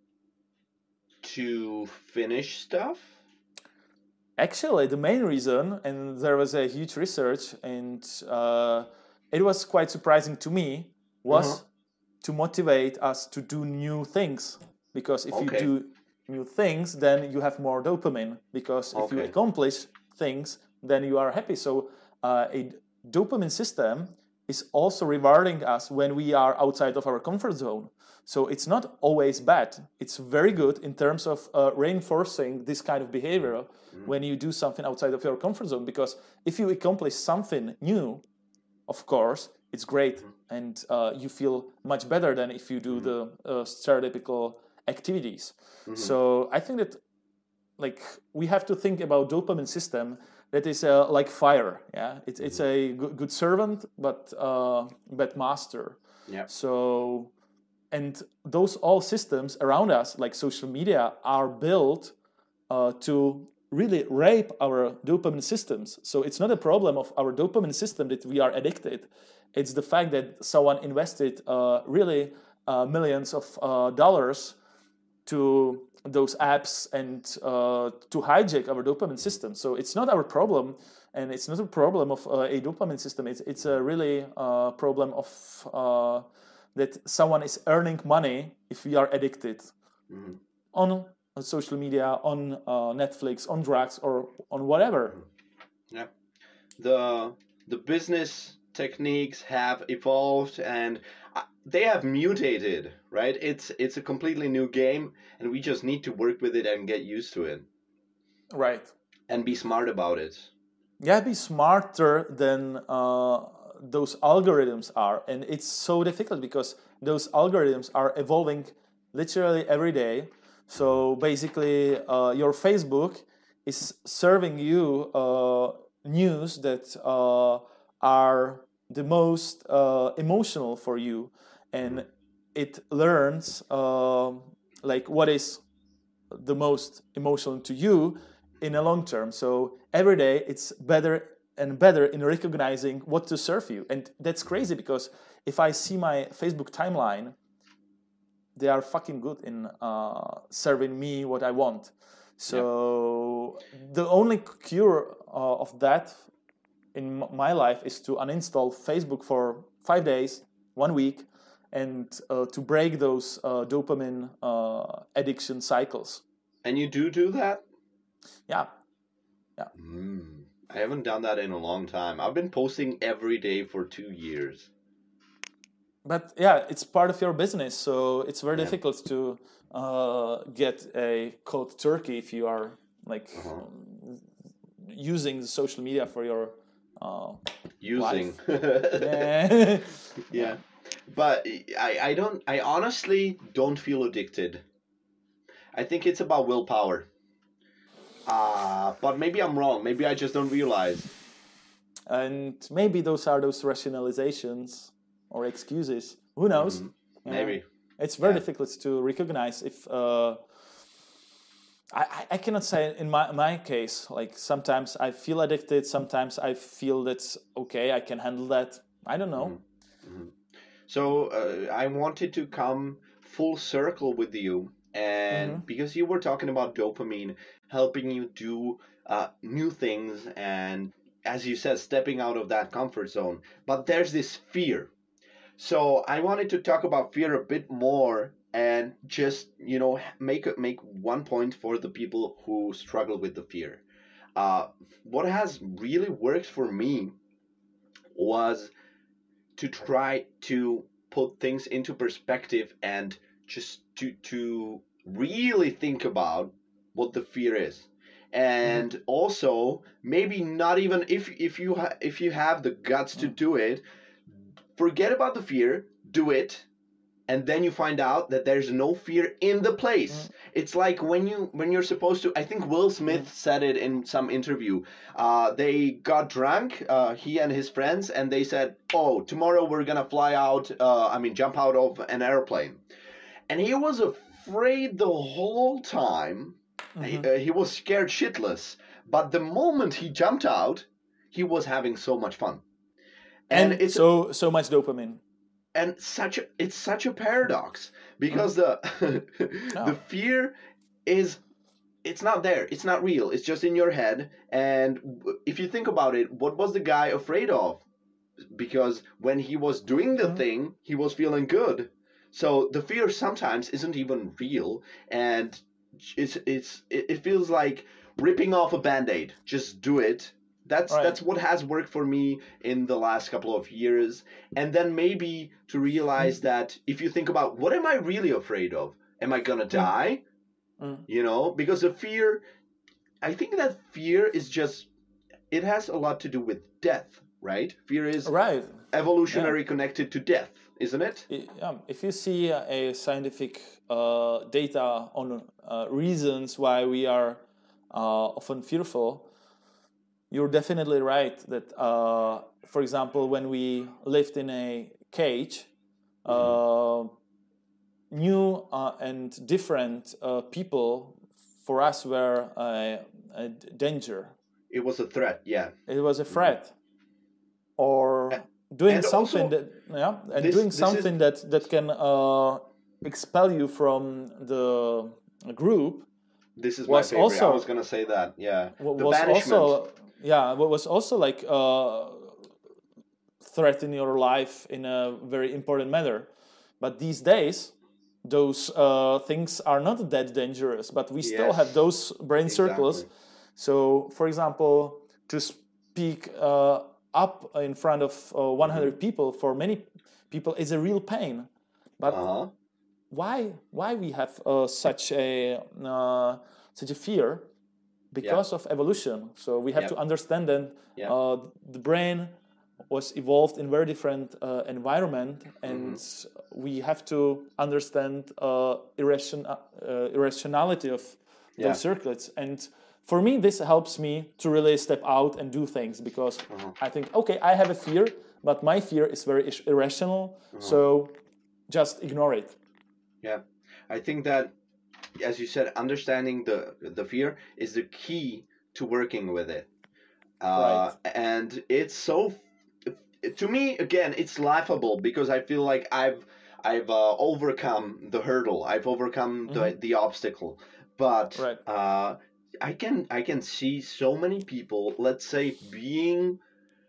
to finish stuff. Actually, the main reason, and there was a huge research, and uh, it was quite surprising to me, was Uh-huh. to motivate us to do new things. Because if Okay. you do new things, then you have more dopamine. Because if you Okay. accomplish things, then you are happy. So uh, a dopamine system is also rewarding us when we are outside of our comfort zone. So it's not always bad. It's very good in terms of uh, reinforcing this kind of behavior when you do something outside of your comfort zone. Because if you accomplish something new, of course, it's great, and uh, you feel much better than if you do the uh, stereotypical activities. So I think that, like, we have to think about dopamine system that is uh, like fire. Yeah, it's it's a good, good servant, but uh, bad master. Yeah. So, and those all systems around us, like social media, are built uh, to really rape our dopamine systems. So it's not a problem of our dopamine system that we are addicted. It's the fact that someone invested uh, really uh, millions of uh, dollars to those apps and uh, to hijack our dopamine system. So it's not our problem, and it's not a problem of uh, a dopamine system. It's it's a really uh, problem of uh, that someone is earning money if we are addicted Mhm. on, on social media, on uh, Netflix, on drugs, or on whatever. Yeah. The the business techniques have evolved, and uh, they have mutated, right? It's it's a completely new game, and we just need to work with it and get used to it Right. and be smart about it. Yeah, be smarter than uh, those algorithms are, and it's so difficult because those algorithms are evolving literally every day. So basically, uh, your Facebook is serving you uh, news that uh, are the most uh, emotional for you, and it learns um like what is the most emotional to you in a long term. So every day it's better and better in recognizing what to serve you. And that's crazy because if I see my Facebook timeline, they are fucking good in uh, serving me what I want. So the only cure uh, of that in m- my life is to uninstall Facebook for five days, one week, and uh, to break those uh, dopamine uh, addiction cycles. And you do do that? Yeah. Mm. I haven't done that in a long time. I've been posting every day for two years. But yeah, it's part of your business, so it's very Yeah. difficult to uh, get a cold turkey if you are like Uh-huh. um, using the social media for your. Uh, Using. eh, Yeah. But I, I don't I honestly don't feel addicted. I think it's about willpower. Uh, but maybe I'm wrong. Maybe I just don't realize. and maybe those are those rationalizations or excuses. Who knows? Mhm. Yeah. Maybe. It's very Yeah. difficult to recognize if. Uh, I, I- I cannot say in my, my case, like sometimes I feel addicted, sometimes I feel that's okay, I can handle that. I don't know. So uh, I wanted to come full circle with you, and Mhm. because you were talking about dopamine helping you do uh, new things, and as you said, stepping out of that comfort zone. But there's this fear. So I wanted to talk about fear a bit more, and just you know make a- make one point for the people who struggle with the fear. Uh, what has really worked for me was to try to put things into perspective and just to to really think about what the fear is. And mm-hmm. also maybe not even if if you ha- if you have the guts to do it, forget about the fear, do it, and then you find out that there's no fear in the place. Mm. It's like when you when you're supposed to. I think Will Smith mm. said it in some interview. Uh, they got drunk, uh, he and his friends, and they said, "Oh, tomorrow we're gonna fly out. Uh, I mean, jump out of an airplane." And he was afraid the whole time. Mm-hmm. He, uh, he was scared shitless. But the moment he jumped out, he was having so much fun. And, and it's so so much dopamine. And such a, it's such a paradox because mm-hmm. the the fear is it's not there. It's not real. It's just in your head. And if you think about it, what was the guy afraid of? Because when he was doing the mm-hmm. thing, he was feeling good. So the fear sometimes isn't even real, and it's it's it feels like ripping off a Band-Aid. Just do it. That's right. That's what has worked for me in the last couple of years. And then maybe to realize that if you think about what am I really afraid of? Am I gonna die? Mm. You know, because the fear, I think that fear is just, it has a lot to do with death, right? Fear is right. evolutionary yeah. connected to death, isn't it? Yeah. If you see a scientific uh, data on uh, reasons why we are uh, often fearful, you're definitely right that, uh, for example, when we lived in a cage, mm-hmm. uh, new uh, and different uh, people for us were a, a danger. It was a threat, yeah. It was a threat. Mm-hmm. Or and, doing and something also, that, yeah, and this, doing something is... that that can uh, expel you from the group. This is my favorite. Also, I was gonna say that, yeah. The was banishment. Also, yeah, what was also like uh, threatening your life in a very important manner. But these days, those uh, things are not that dangerous, but we yes. still have those brain exactly. circles. So, for example, to speak uh, up in front of uh, one hundred mm-hmm. people for many people is a real pain. But uh-huh. why? Why we have uh, such a uh, such a fear? Because yep. of evolution. So we have yep. to understand that yep. uh, the brain was evolved in very different uh, environment, and mm-hmm. we have to understand uh, irration, uh, irrationality of yeah. those circuits. And for me, this helps me to really step out and do things, because uh-huh. I think, okay, I have a fear, but my fear is very ir- irrational, uh-huh. so just ignore it. Yeah, I think that, as you said, understanding the the fear is the key to working with it. Uh, right. And it's so, to me, again, it's laughable because I feel like I've I've uh, overcome the hurdle. I've overcome mm-hmm. the the obstacle. But right. uh, I can I can see so many people, let's say, being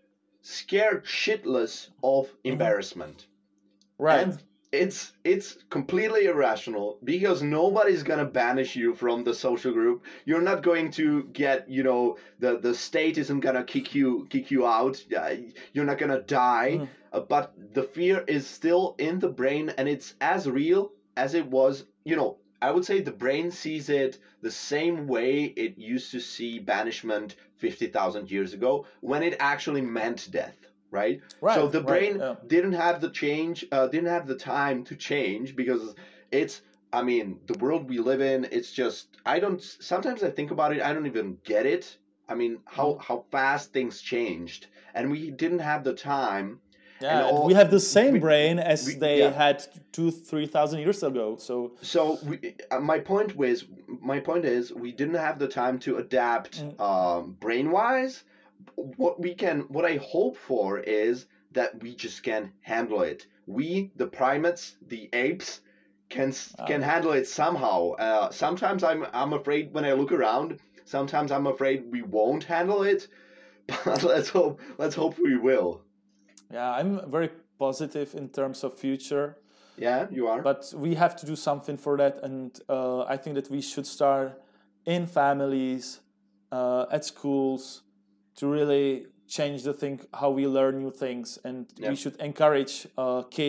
scared shitless of mm-hmm. embarrassment. Right. And It's it's completely irrational because nobody's gonna banish you from the social group. You're not going to get, you know, the, the state isn't gonna kick you kick you out. Uh, you're not gonna die. Mm. Uh, but the fear is still in the brain, and it's as real as it was. You know, I would say the brain sees it the same way it used to see banishment fifty thousand years ago, when it actually meant death. Right? Right. So the brain right, yeah. didn't have the change, uh, didn't have the time to change because it's, I mean, the world we live in, it's just, I don't, sometimes I think about it, I don't even get it. I mean, how, mm. how fast things changed, and we didn't have the time. Yeah, and all, we have the same we, brain as we, they yeah. had two, three thousand years ago. So, so we, uh, my point was, my point is, we didn't have the time to adapt mm. um, brain-wise. What we can, what I hope for is that we just can handle it. We, the primates, the apes, can uh, can handle it somehow. Uh, sometimes I'm I'm afraid when I look around. Sometimes I'm afraid we won't handle it. But let's hope let's hope we will. Yeah, I'm very positive in terms of future. Yeah, you are. But we have to do something for that, and uh, I think that we should start in families, uh, at schools, to really change the thing, how we learn new things. And yep. we should encourage uh, kids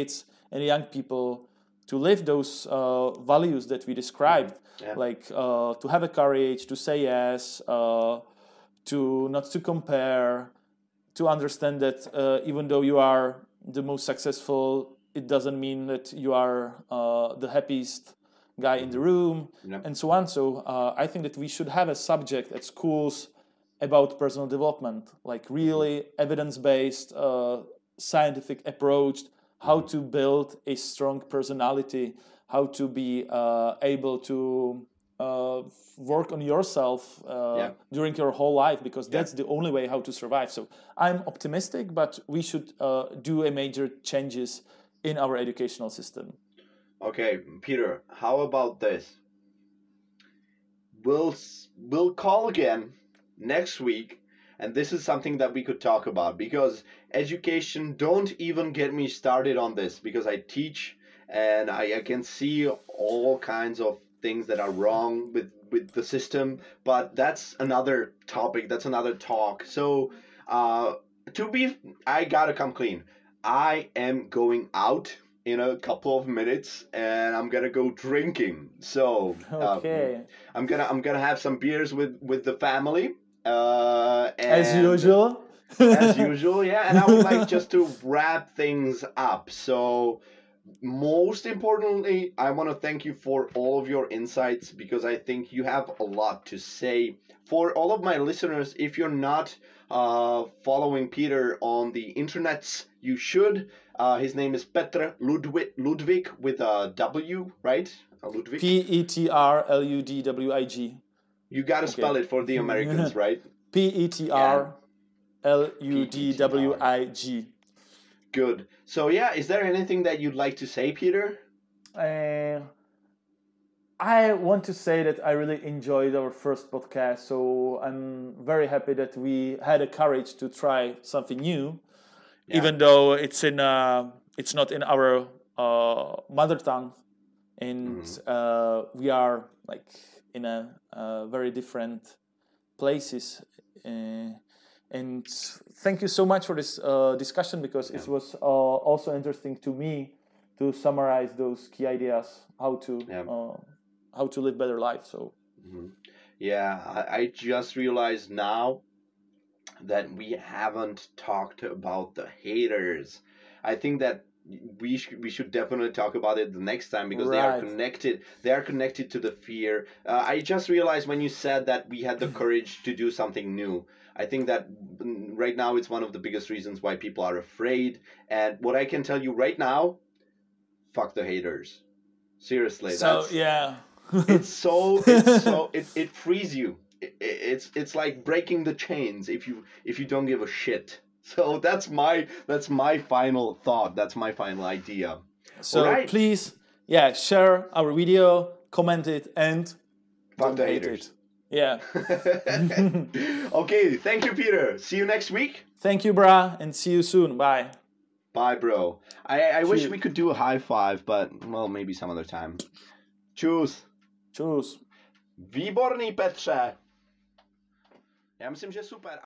and young people to live those uh, values that we described, yeah. like uh, to have a courage, to say yes, uh, to not to compare, to understand that uh, even though you are the most successful, it doesn't mean that you are uh, the happiest guy in the room, yep. and so on. So uh, I think that we should have a subject at schools about personal development, like really evidence-based, uh, scientific approach, how to build a strong personality, how to be uh, able to uh, work on yourself uh, yeah. during your whole life, because that's yeah. the only way how to survive. So I'm optimistic, but we should uh, do a major changes in our educational system. Okay, Peter, how about this? We'll we'll call again next week, and this is something that we could talk about, because education, don't even get me started on this, because I teach and I, I can see all kinds of things that are wrong with, with the system, but that's another topic, that's another talk. So uh, to be, I gotta come clean. I am going out in a couple of minutes and I'm gonna go drinking. So okay. um, I'm gonna I'm gonna have some beers with, with the family. Uh, and as usual. as usual, yeah. And I would like just to wrap things up. So most importantly, I want to thank you for all of your insights, because I think you have a lot to say. For all of my listeners, if you're not uh, following Peter on the internets, you should. Uh, his name is Petr Ludwig, Ludwig with a W, right? A Ludwig? P E T R L U D W I G. You got to okay. spell it for the Americans, right? P E T R L U D W I G. Good. So, yeah, is there anything that you'd like to say, Peter? Uh, I want to say that I really enjoyed our first podcast, so I'm very happy that we had the courage to try something new, yeah. even though it's in uh, it's not in our uh, mother tongue, and mm-hmm. uh, we are like in a uh, very different places. Uh, and thank you so much for this uh, discussion, because yeah. it was uh, also interesting to me to summarize those key ideas, how to yeah. uh, how to live better life. So mm-hmm. yeah, I, I just realized now that we haven't talked about the haters. I think that we should we should definitely talk about it the next time, because right. they are connected. They are connected to the fear. Uh, I just realized when you said that we had the courage to do something new. I think that right now it's one of the biggest reasons why people are afraid. And what I can tell you right now, fuck the haters. Seriously. So that's, yeah. it's so it's so it, it frees you. It, it's it's like breaking the chains if you if you don't give a shit. So that's my that's my final thought. That's my final idea. So right. please, yeah, share our video, comment it, and fuck the haters. It. Yeah. Okay, thank you, Peter. See you next week. Thank you, brah, and see you soon. Bye. Bye, bro. I, I wish we could do a high five, but, well, maybe some other time. Čus. Čus. Výborný, Petře. Já myslím, že super.